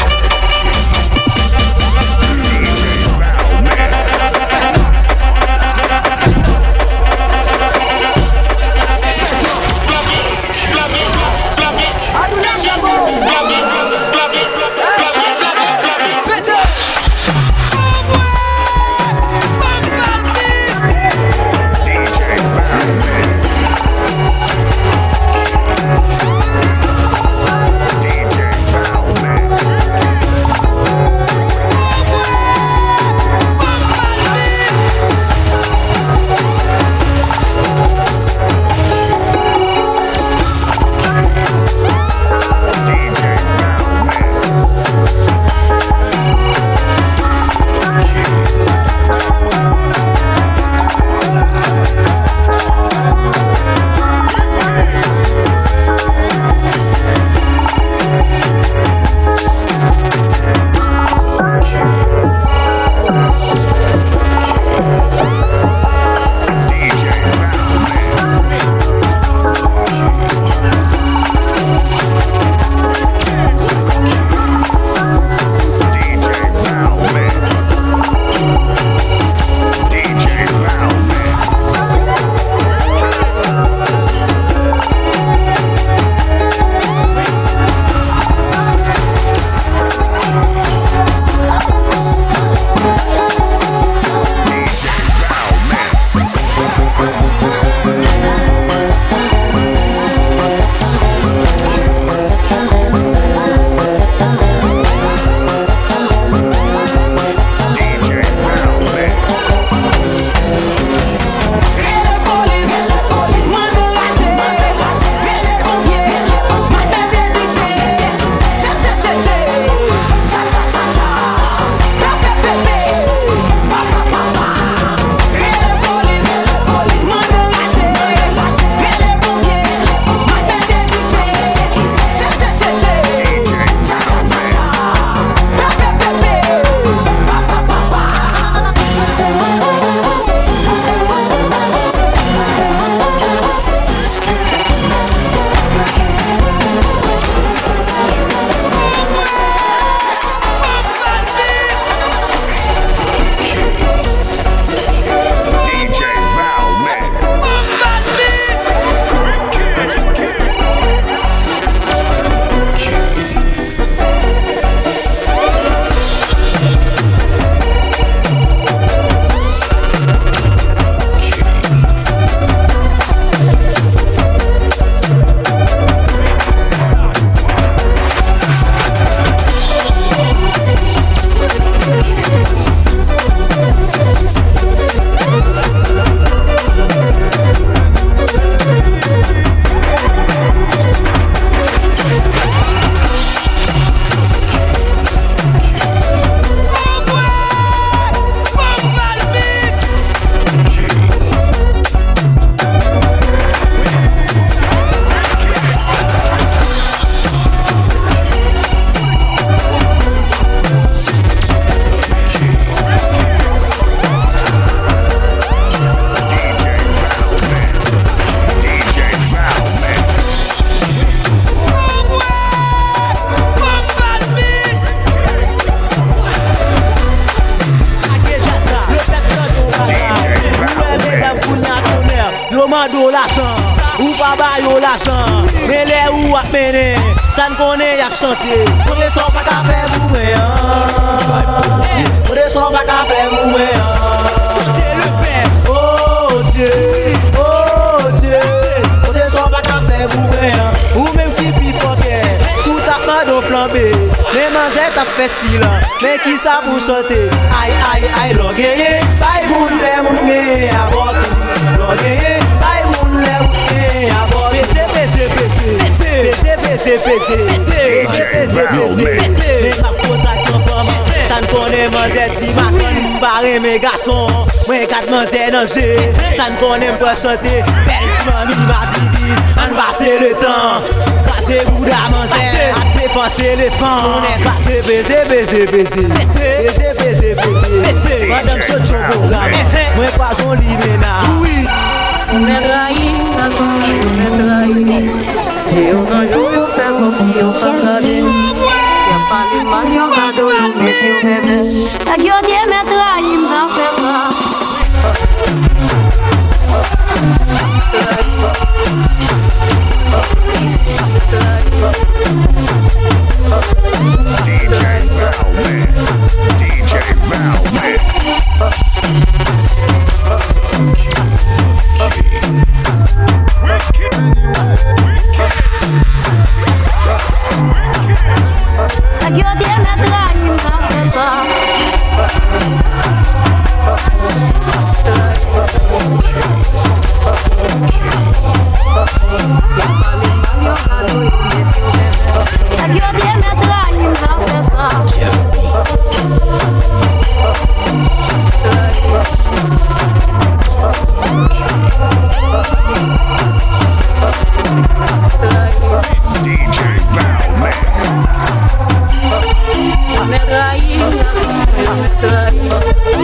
l'argent, ou pas bail l'argent. Mais les ou à mener, ça ne connaît y'a chanter. Pour les sons pas qu'à faire mourir. Pour les sons pas qu'à faire mourir. Chantez le père. Oh Dieu, oh Dieu. Pour les sons pas qu'à faire mourir. Ou même qui pipoquait, sous ta main d'eau flambée. Les manzettes à fait style, mais qui ça pour chanter? Aïe aïe aïe, l'on gagne, bye moun les moun gagne, à bord. L'on gagne, bye moun les moun gagne, à bord. P C P C P C, P C P C P C, P C P C. Mais ma pose à conforme, ça ne connaît manzette si ma conne barré mes garçons. Moi quatre manzettes dans G, ça ne connaît pas chanter. Belle mamie m'a dit, on va passer le temps. C'est Bouddha manzette, à défoncer les fans. On est passé, baisé, baisé, baisé, baisé, baisé, baisé. Madame Socho programme, moi pas son limena. Oui, on est trahi, façon on est trahi. Et on a joué au fait comme si on pas regardé. Y'a pas de mal, y'a pas de mal, mais tu m'aimes. La gueule d'y est trahi, m'en fait pas. D J Valman, D J Valman. La gueule d'y est trahi, m'en fait pas. La gueule d'y est trahi, m'en fait ça. D J Valman. Me trahi, me trahi.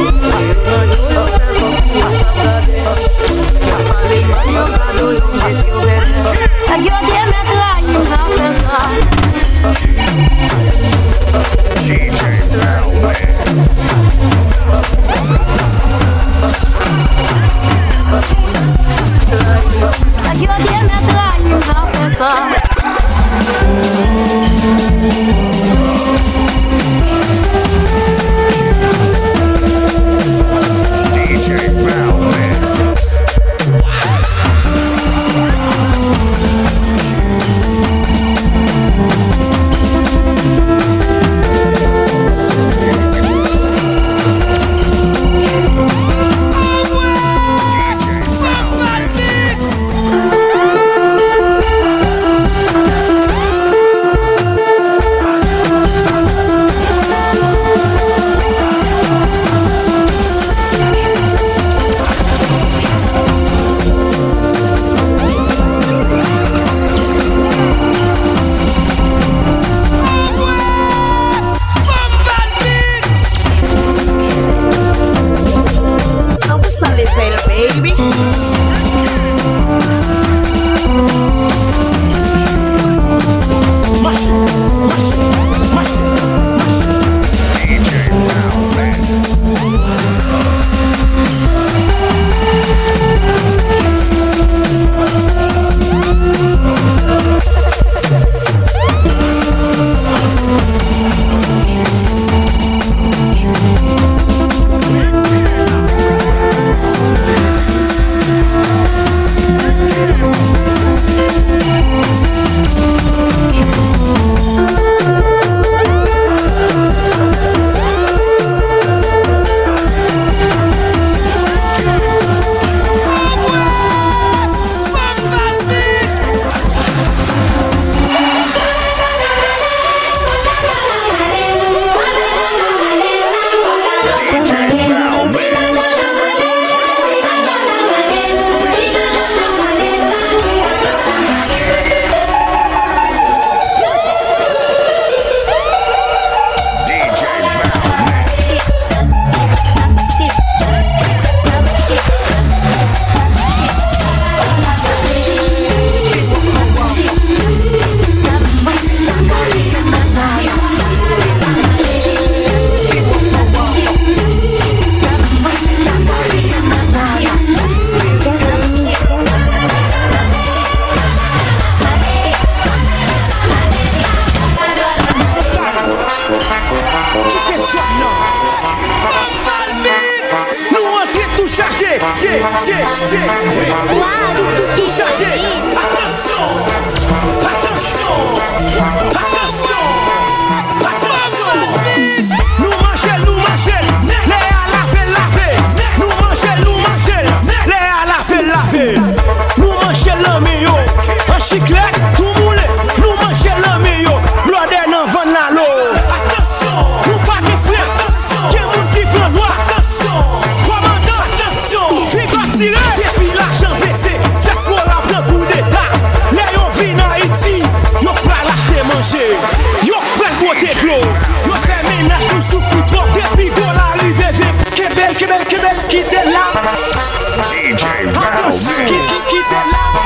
Tout chargé. Attention. Attention. Attention. Attention. Nous mangeons, nous mangeons. Les à laver, laver. Nous mangeons, nous mangeons. Les à laver, laver. Nous mangeons l'ami yo. Un chiclette, tout moulé. Nous mangeons l'ami yo. Blodé nan van la l'eau. Attention. Nous pas de frère. Attention. Qui moun qui prend droit. Attention. Commandant. Attention. Il va tirer. Depuis l'argent baissé. Diaspora prend coup d'état. Les yo vin en Haïti. Yo prêt l'acheter manger. Yo prêt voter clos. Yo fait ménage ou souffle trop. Depuis qu'on arrive. Québec, Québec, Québec, quittez là. D J Val Qui, qui, quittez là.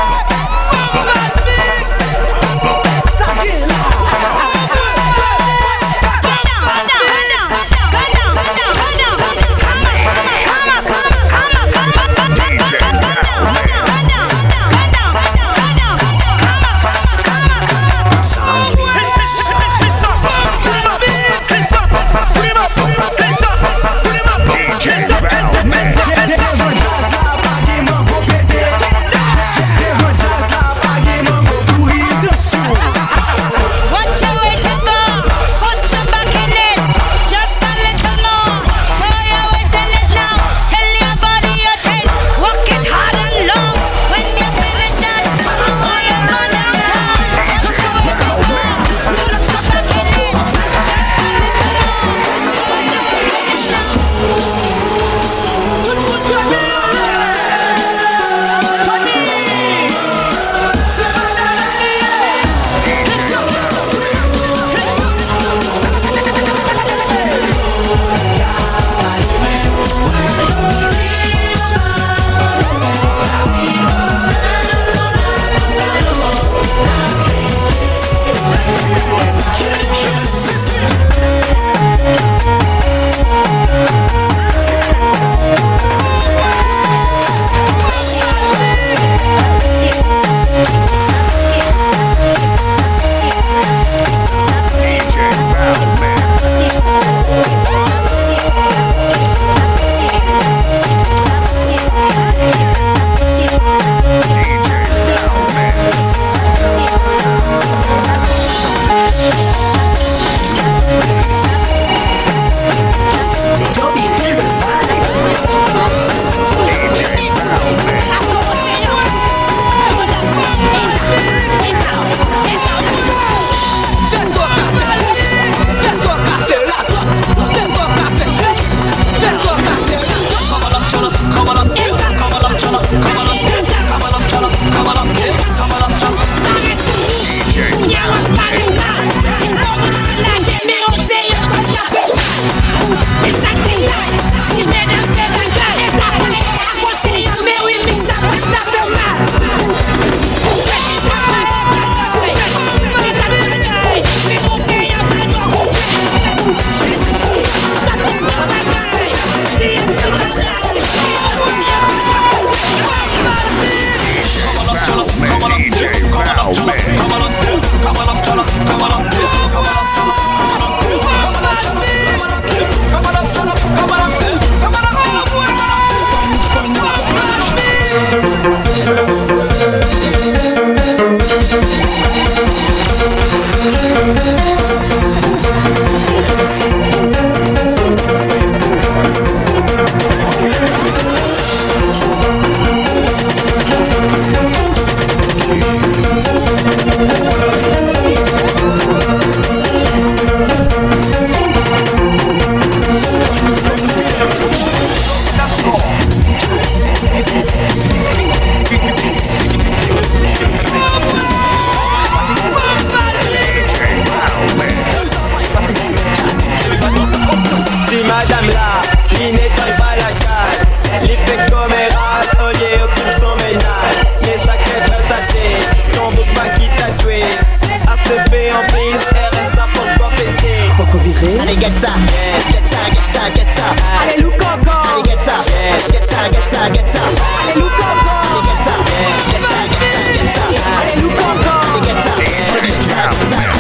Allez, get ça, get ça, get ça, get ça. Allez, look encore. Allez, get ça, get ça, get ça, get ça. Allez, look encore. Allez, get ça, get ça, get ça, get ça. Allez, look encore. Allez, get ça, get ça, get ça.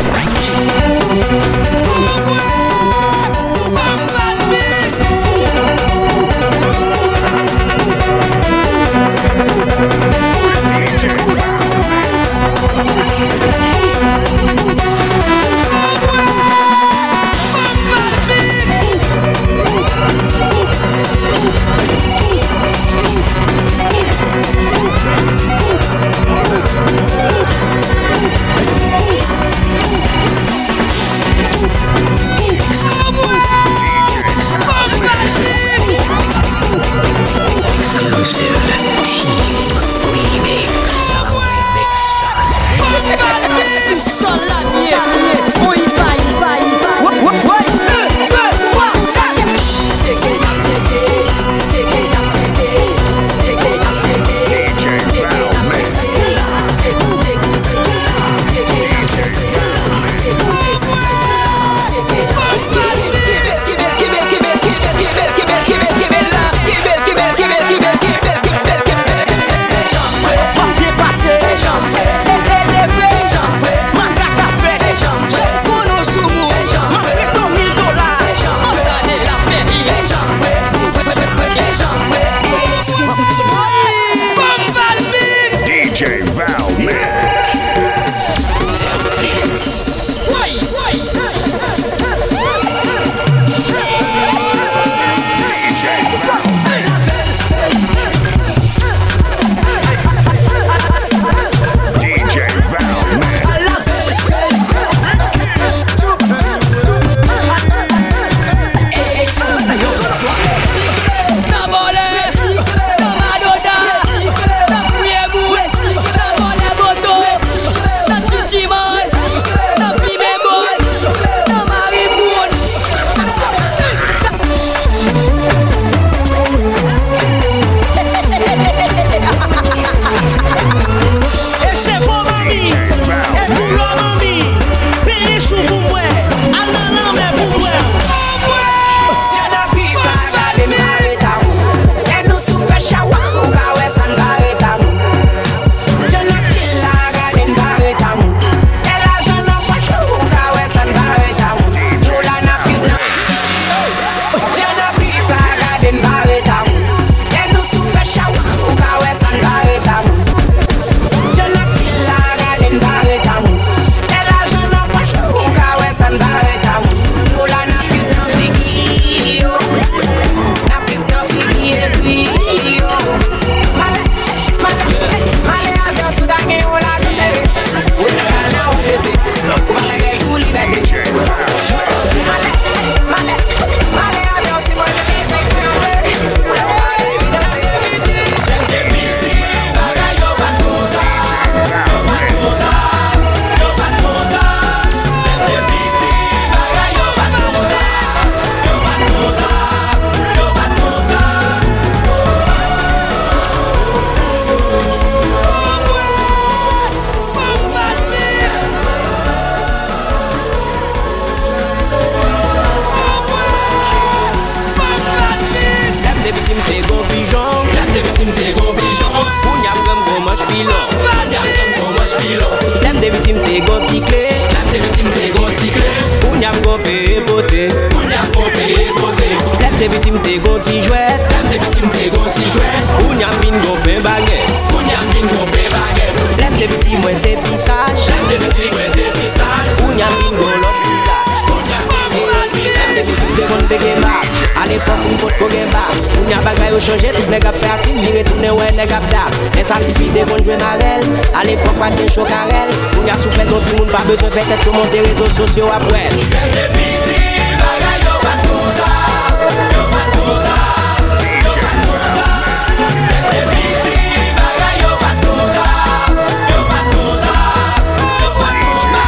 ti clé. Lève tes victimes, t'es go ti clé. Ou n'y a go paye beauté. Ou n'y a go paye beauté. Lève tes victimes, t'es go ti jouette. Lève tes victimes, t'es go ti jouette. Ou n'y a bin go paye baguette. Ou n'y a bin go paye baguette. Lève tes victimes, ouais t'es pissage. Lève tes victimes, ouais t'es pissage. Ou n'y a bin go l'autre visage. Ou n'y a bin go l'autre visage. Lève tes victimes, t'es bon de game back. À l'époque, on peut pas game back. Ou n'y a bagay ou changer, tout les gars fait actif. Vire tourner ouais les gars d'ap. Les certifiés des bons jouer narel. À l'époque, pas de chaud carrel. Ou n'y a souffert d'autres tout le monde, pas besoin de faire tout monter réseaux sociaux après. Lève tes victimes, bagay yo pas tout ça. Yo pas tout ça. Yo pas tout ça. Lève tes victimes, bagay yo pas tout ça. Yo pas tout ça. Yo pas tout ça.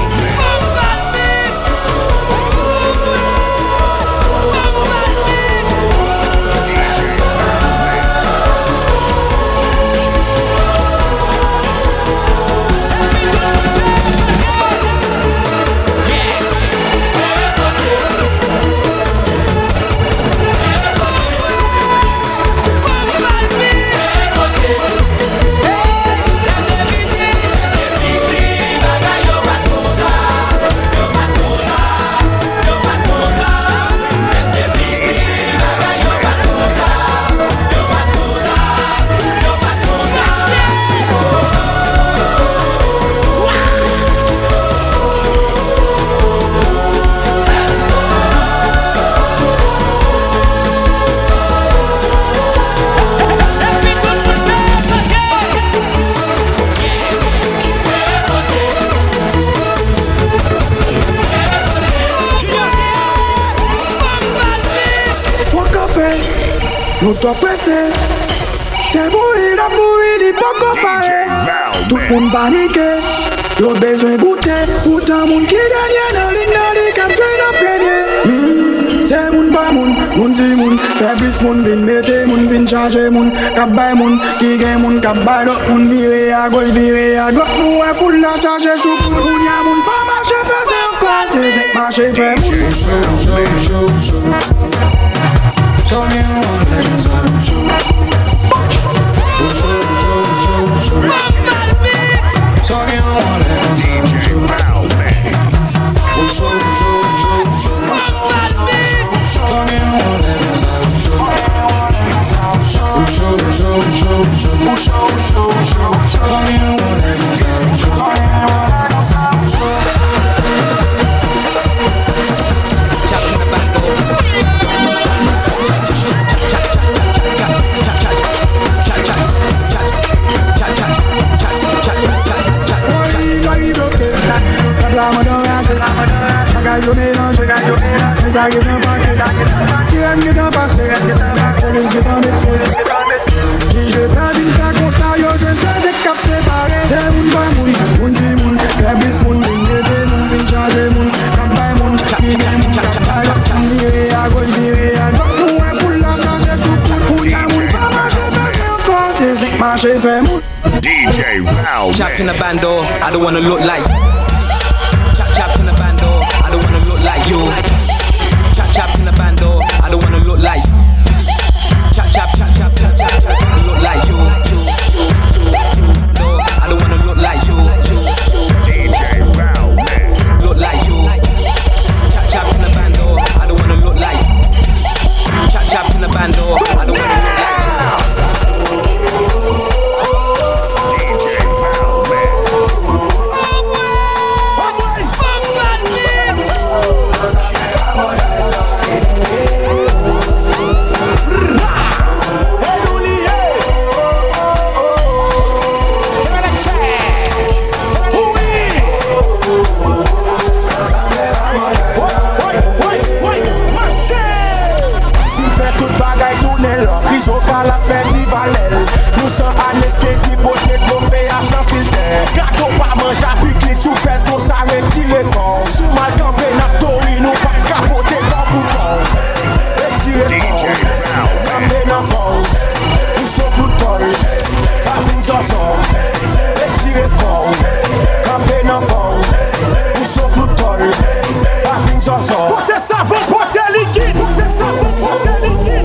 Nous t'en pressé, c'est mourir à mourir, il pas comparé. Tout le monde paniqué, y'a besoin de goûter. Pourtant, moun qui gagne dans l'île, dans l'île, comme j'ai dans le c'est moun pas moun, moun si moun. Faiblesse moun, vin mette moun, vin changer moun. Kap bay moun, qui gagne moun, kap bay l'autre moun. Viré à gauche, viré à droite, nous est pour la charger sous pour moun. Y'a moun pas marcher, faisait encore, c'est c'est marcher, fait moun. Show, show, show, show. Show me one let us have show. Oh show, show, show, show. Show me one let us have show. Oh show, show, show, show. Show me one let us have show. Oh show, show, show, show. Oh show, show, show, show. Show me one let us have show. Show me one let us have show. Yo mélange, mais ça guette un paquet. Qui aime guette un paquet, police guette un défilé. Si je t'ai dit ta constat, yo je t'ai des caps séparés. C'est moun pas moun, moun si moun. Faiblesse moun, vin mette moun, vin changer moun. Campagne moun, qui gagne moun, campagne moun. Viré à gauche, viré à droite. Nous est pour la changer sous tout. Pour y'a moun pas marcher, fait encore. C'est zinc marcher, fait moun. D J Val. Chap in the bando, I don't wanna look like. Chap chap in the bando, I don't wanna look like you. Chap chap in the bando, I don't wanna look like. Chap chap chap chap chap chap chap, look like you. No, I don't wanna look like you. D J Val, man. Look like you. Chap chap in the bando, I don't wanna look like. Chap chap in the bando, I don't wanna look like. Au cas la petit valel. Nous sans anesthésie pour les tromper à sans filter. Gâteau pas manger à piquer sous fait pour ça retirer corps. Sous mal campé n'a tori nous pas capoter dans bouton. Retirer corps. Campé n'a pas. Nous sommes tout toll. Pas une chanson. Retirer corps. Campé n'a pas. Nous sommes tout toll. Pas une chanson. Portez savon, portez liquide. Portez savon, portez liquide.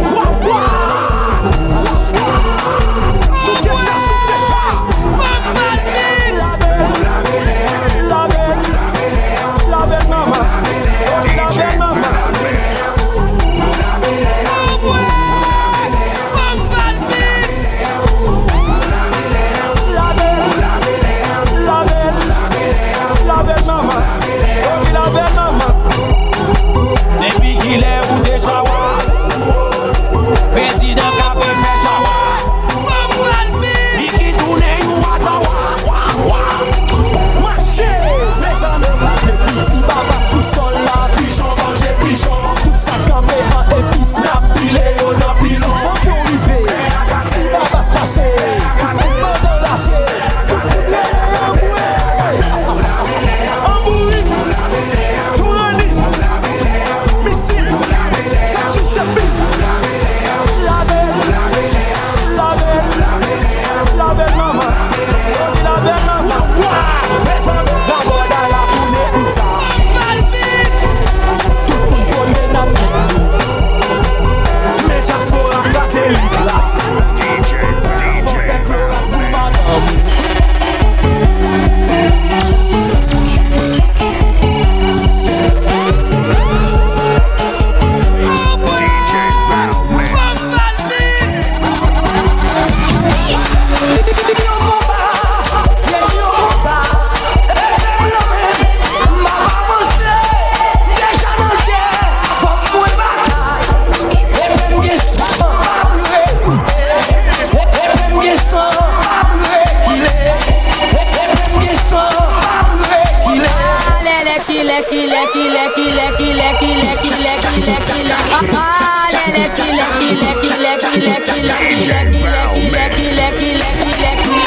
lecky, lecky, lecky, lecky, lecky, lecky, lecky, lecky, lecky. Ah, lecky, lecky, lecky, lecky, lecky, lecky, lecky, lecky, lecky, lecky, lecky, lecky,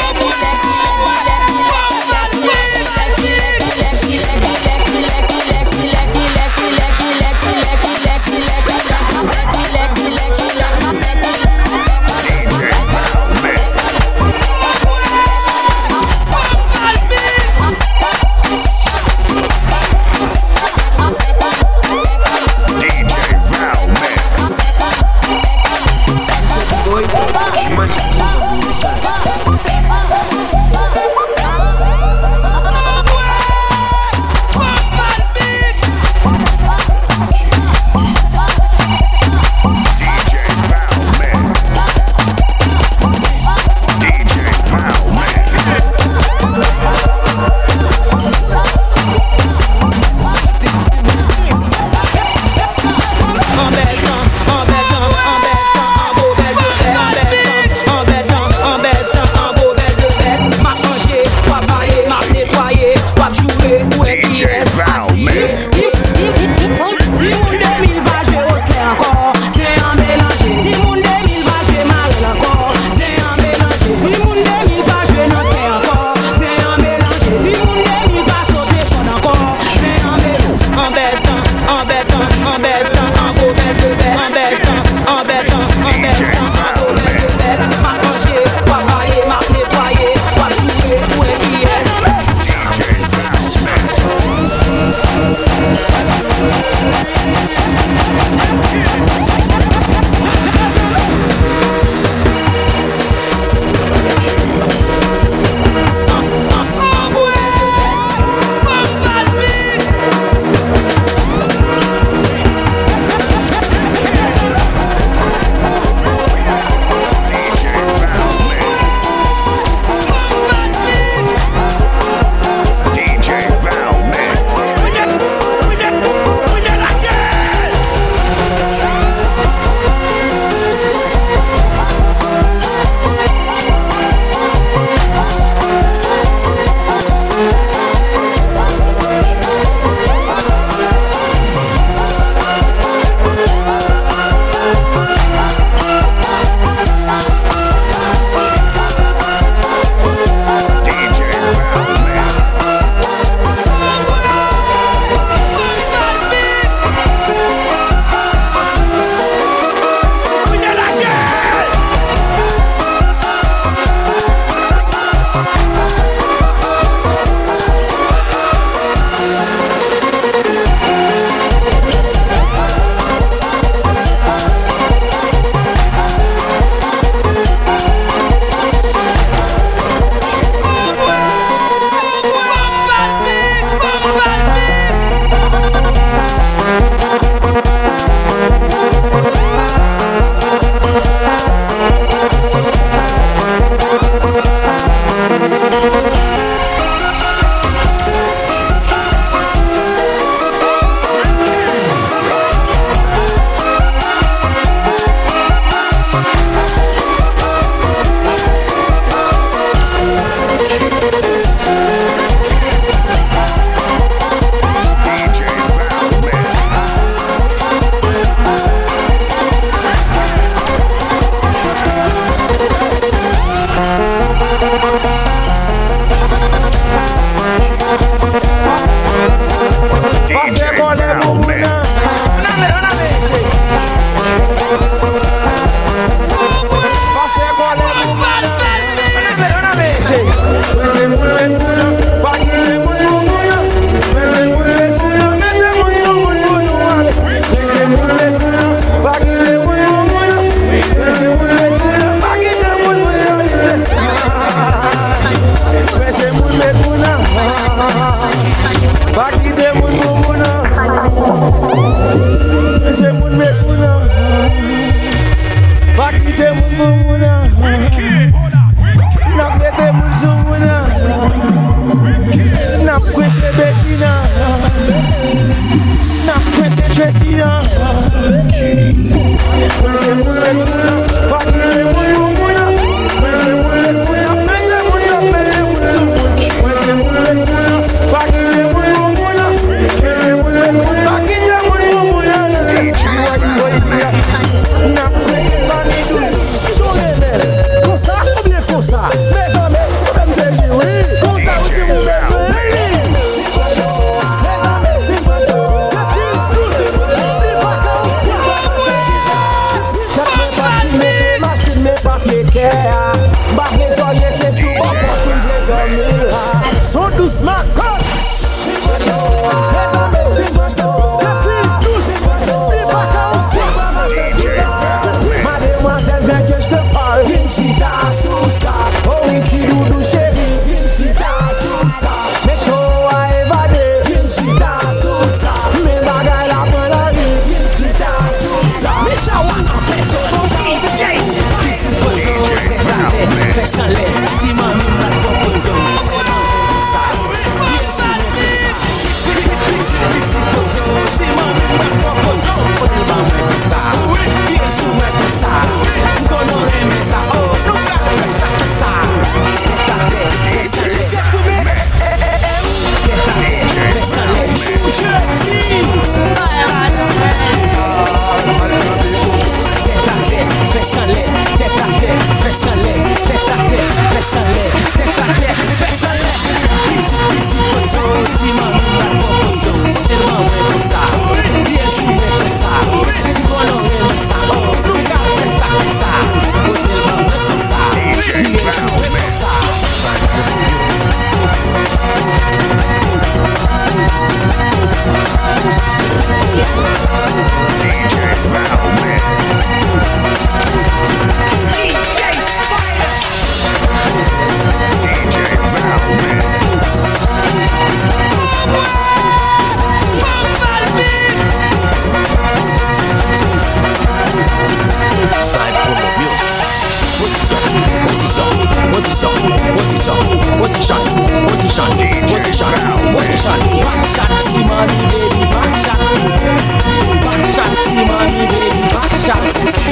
position, position, position. Back shot, team on me, baby, back shot. Back shot, team on me, baby, back shot.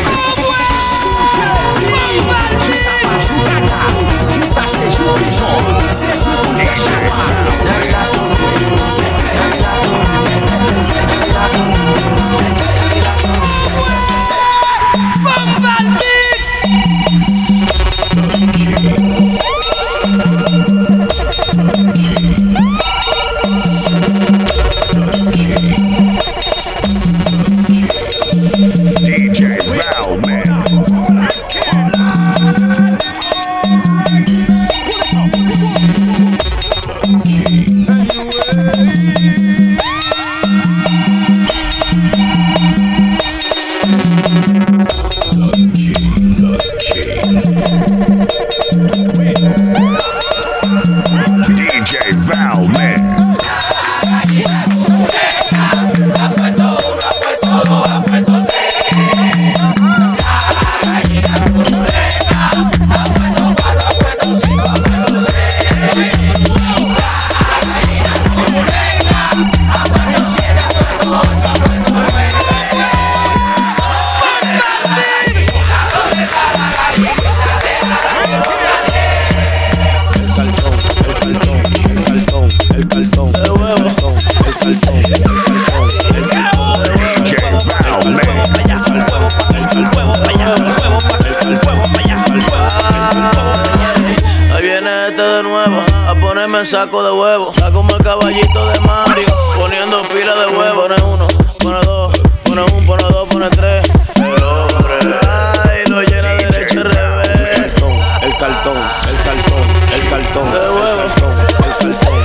Juste à pas, joue kata. Juste à c'est joue pigeon. C'est joue pour faire chawa. Dans la zone, dans la zone, dans la zone, dans la zone. Bambal D J Val Man. D J Val Man. Me saco de huevo, saco el caballito de Mario, poniendo pila de huevo. Pone uno, pone dos, pone un, pone dos, pone tres. El hombre, ay, lo llena derecho al revés. El cartón, el cartón, el cartón, de huevo. El cartón, el cartón,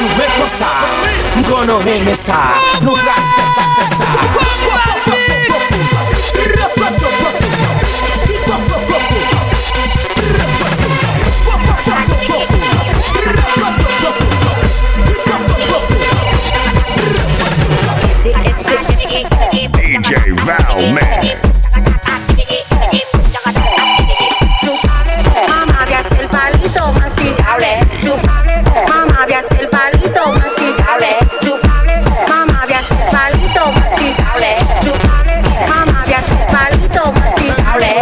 sou mwen kon sa Mkono reme sa Nou pral fè sa fè sa D J Val Mix. Mamá, veas el palito masticable. Chupable. Mamá, veas el palito masticable. Chupable. Mamá, veas el palito masticable. Chupable. Mamá, veas el palito masticable.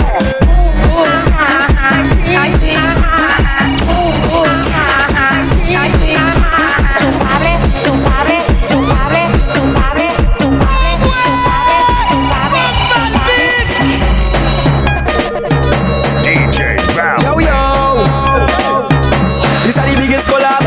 Chupable, chupable, chupable, chupable, chupable, D J Val. Yo yo This are the biggest collab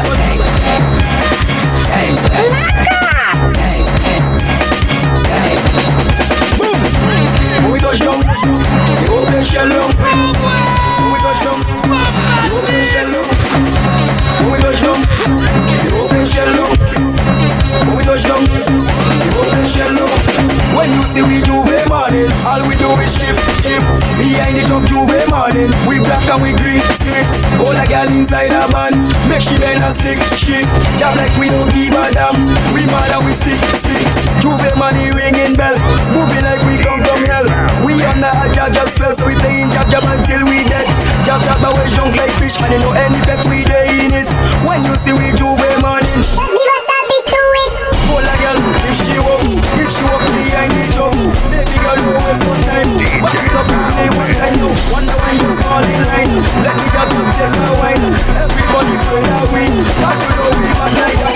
Hey, hey, hey, hey, boom. When we touch down The whole place shell down When we touch down The whole place shell down When we touch down The whole place shell down When we touch down The whole place shell down When you see we Juve morning All we do is ship, ship Behind the truck Juve morning We black and we green, sick All a girl inside a van Make she bend and stick, shit Job like we don't give a damn We mad and we sick, sick Juve money ringing bell Moving like we come from hell We under a jab jab spell So we playing jab jab until we dead Jab jab but we junk like fish And you know any pet we day in it When you see we Juve morning All a girl, if she up, if she up behind the drum Baby girl, you waste no time Back it up, play one time now Wonder why you small in line Let me jab up, take my wine Everybody feel that win Cause you know we bad like that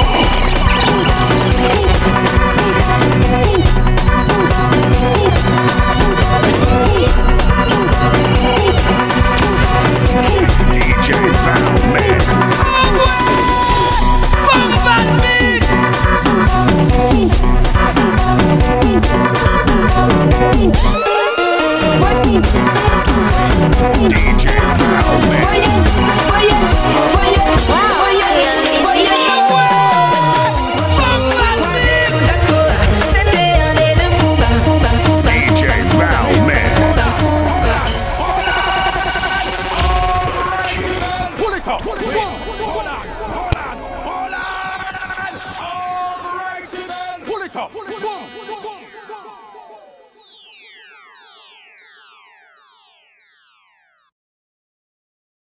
D J Val Mix. D J Val Mix. D J Val Mix. Pull it up. Pull it up.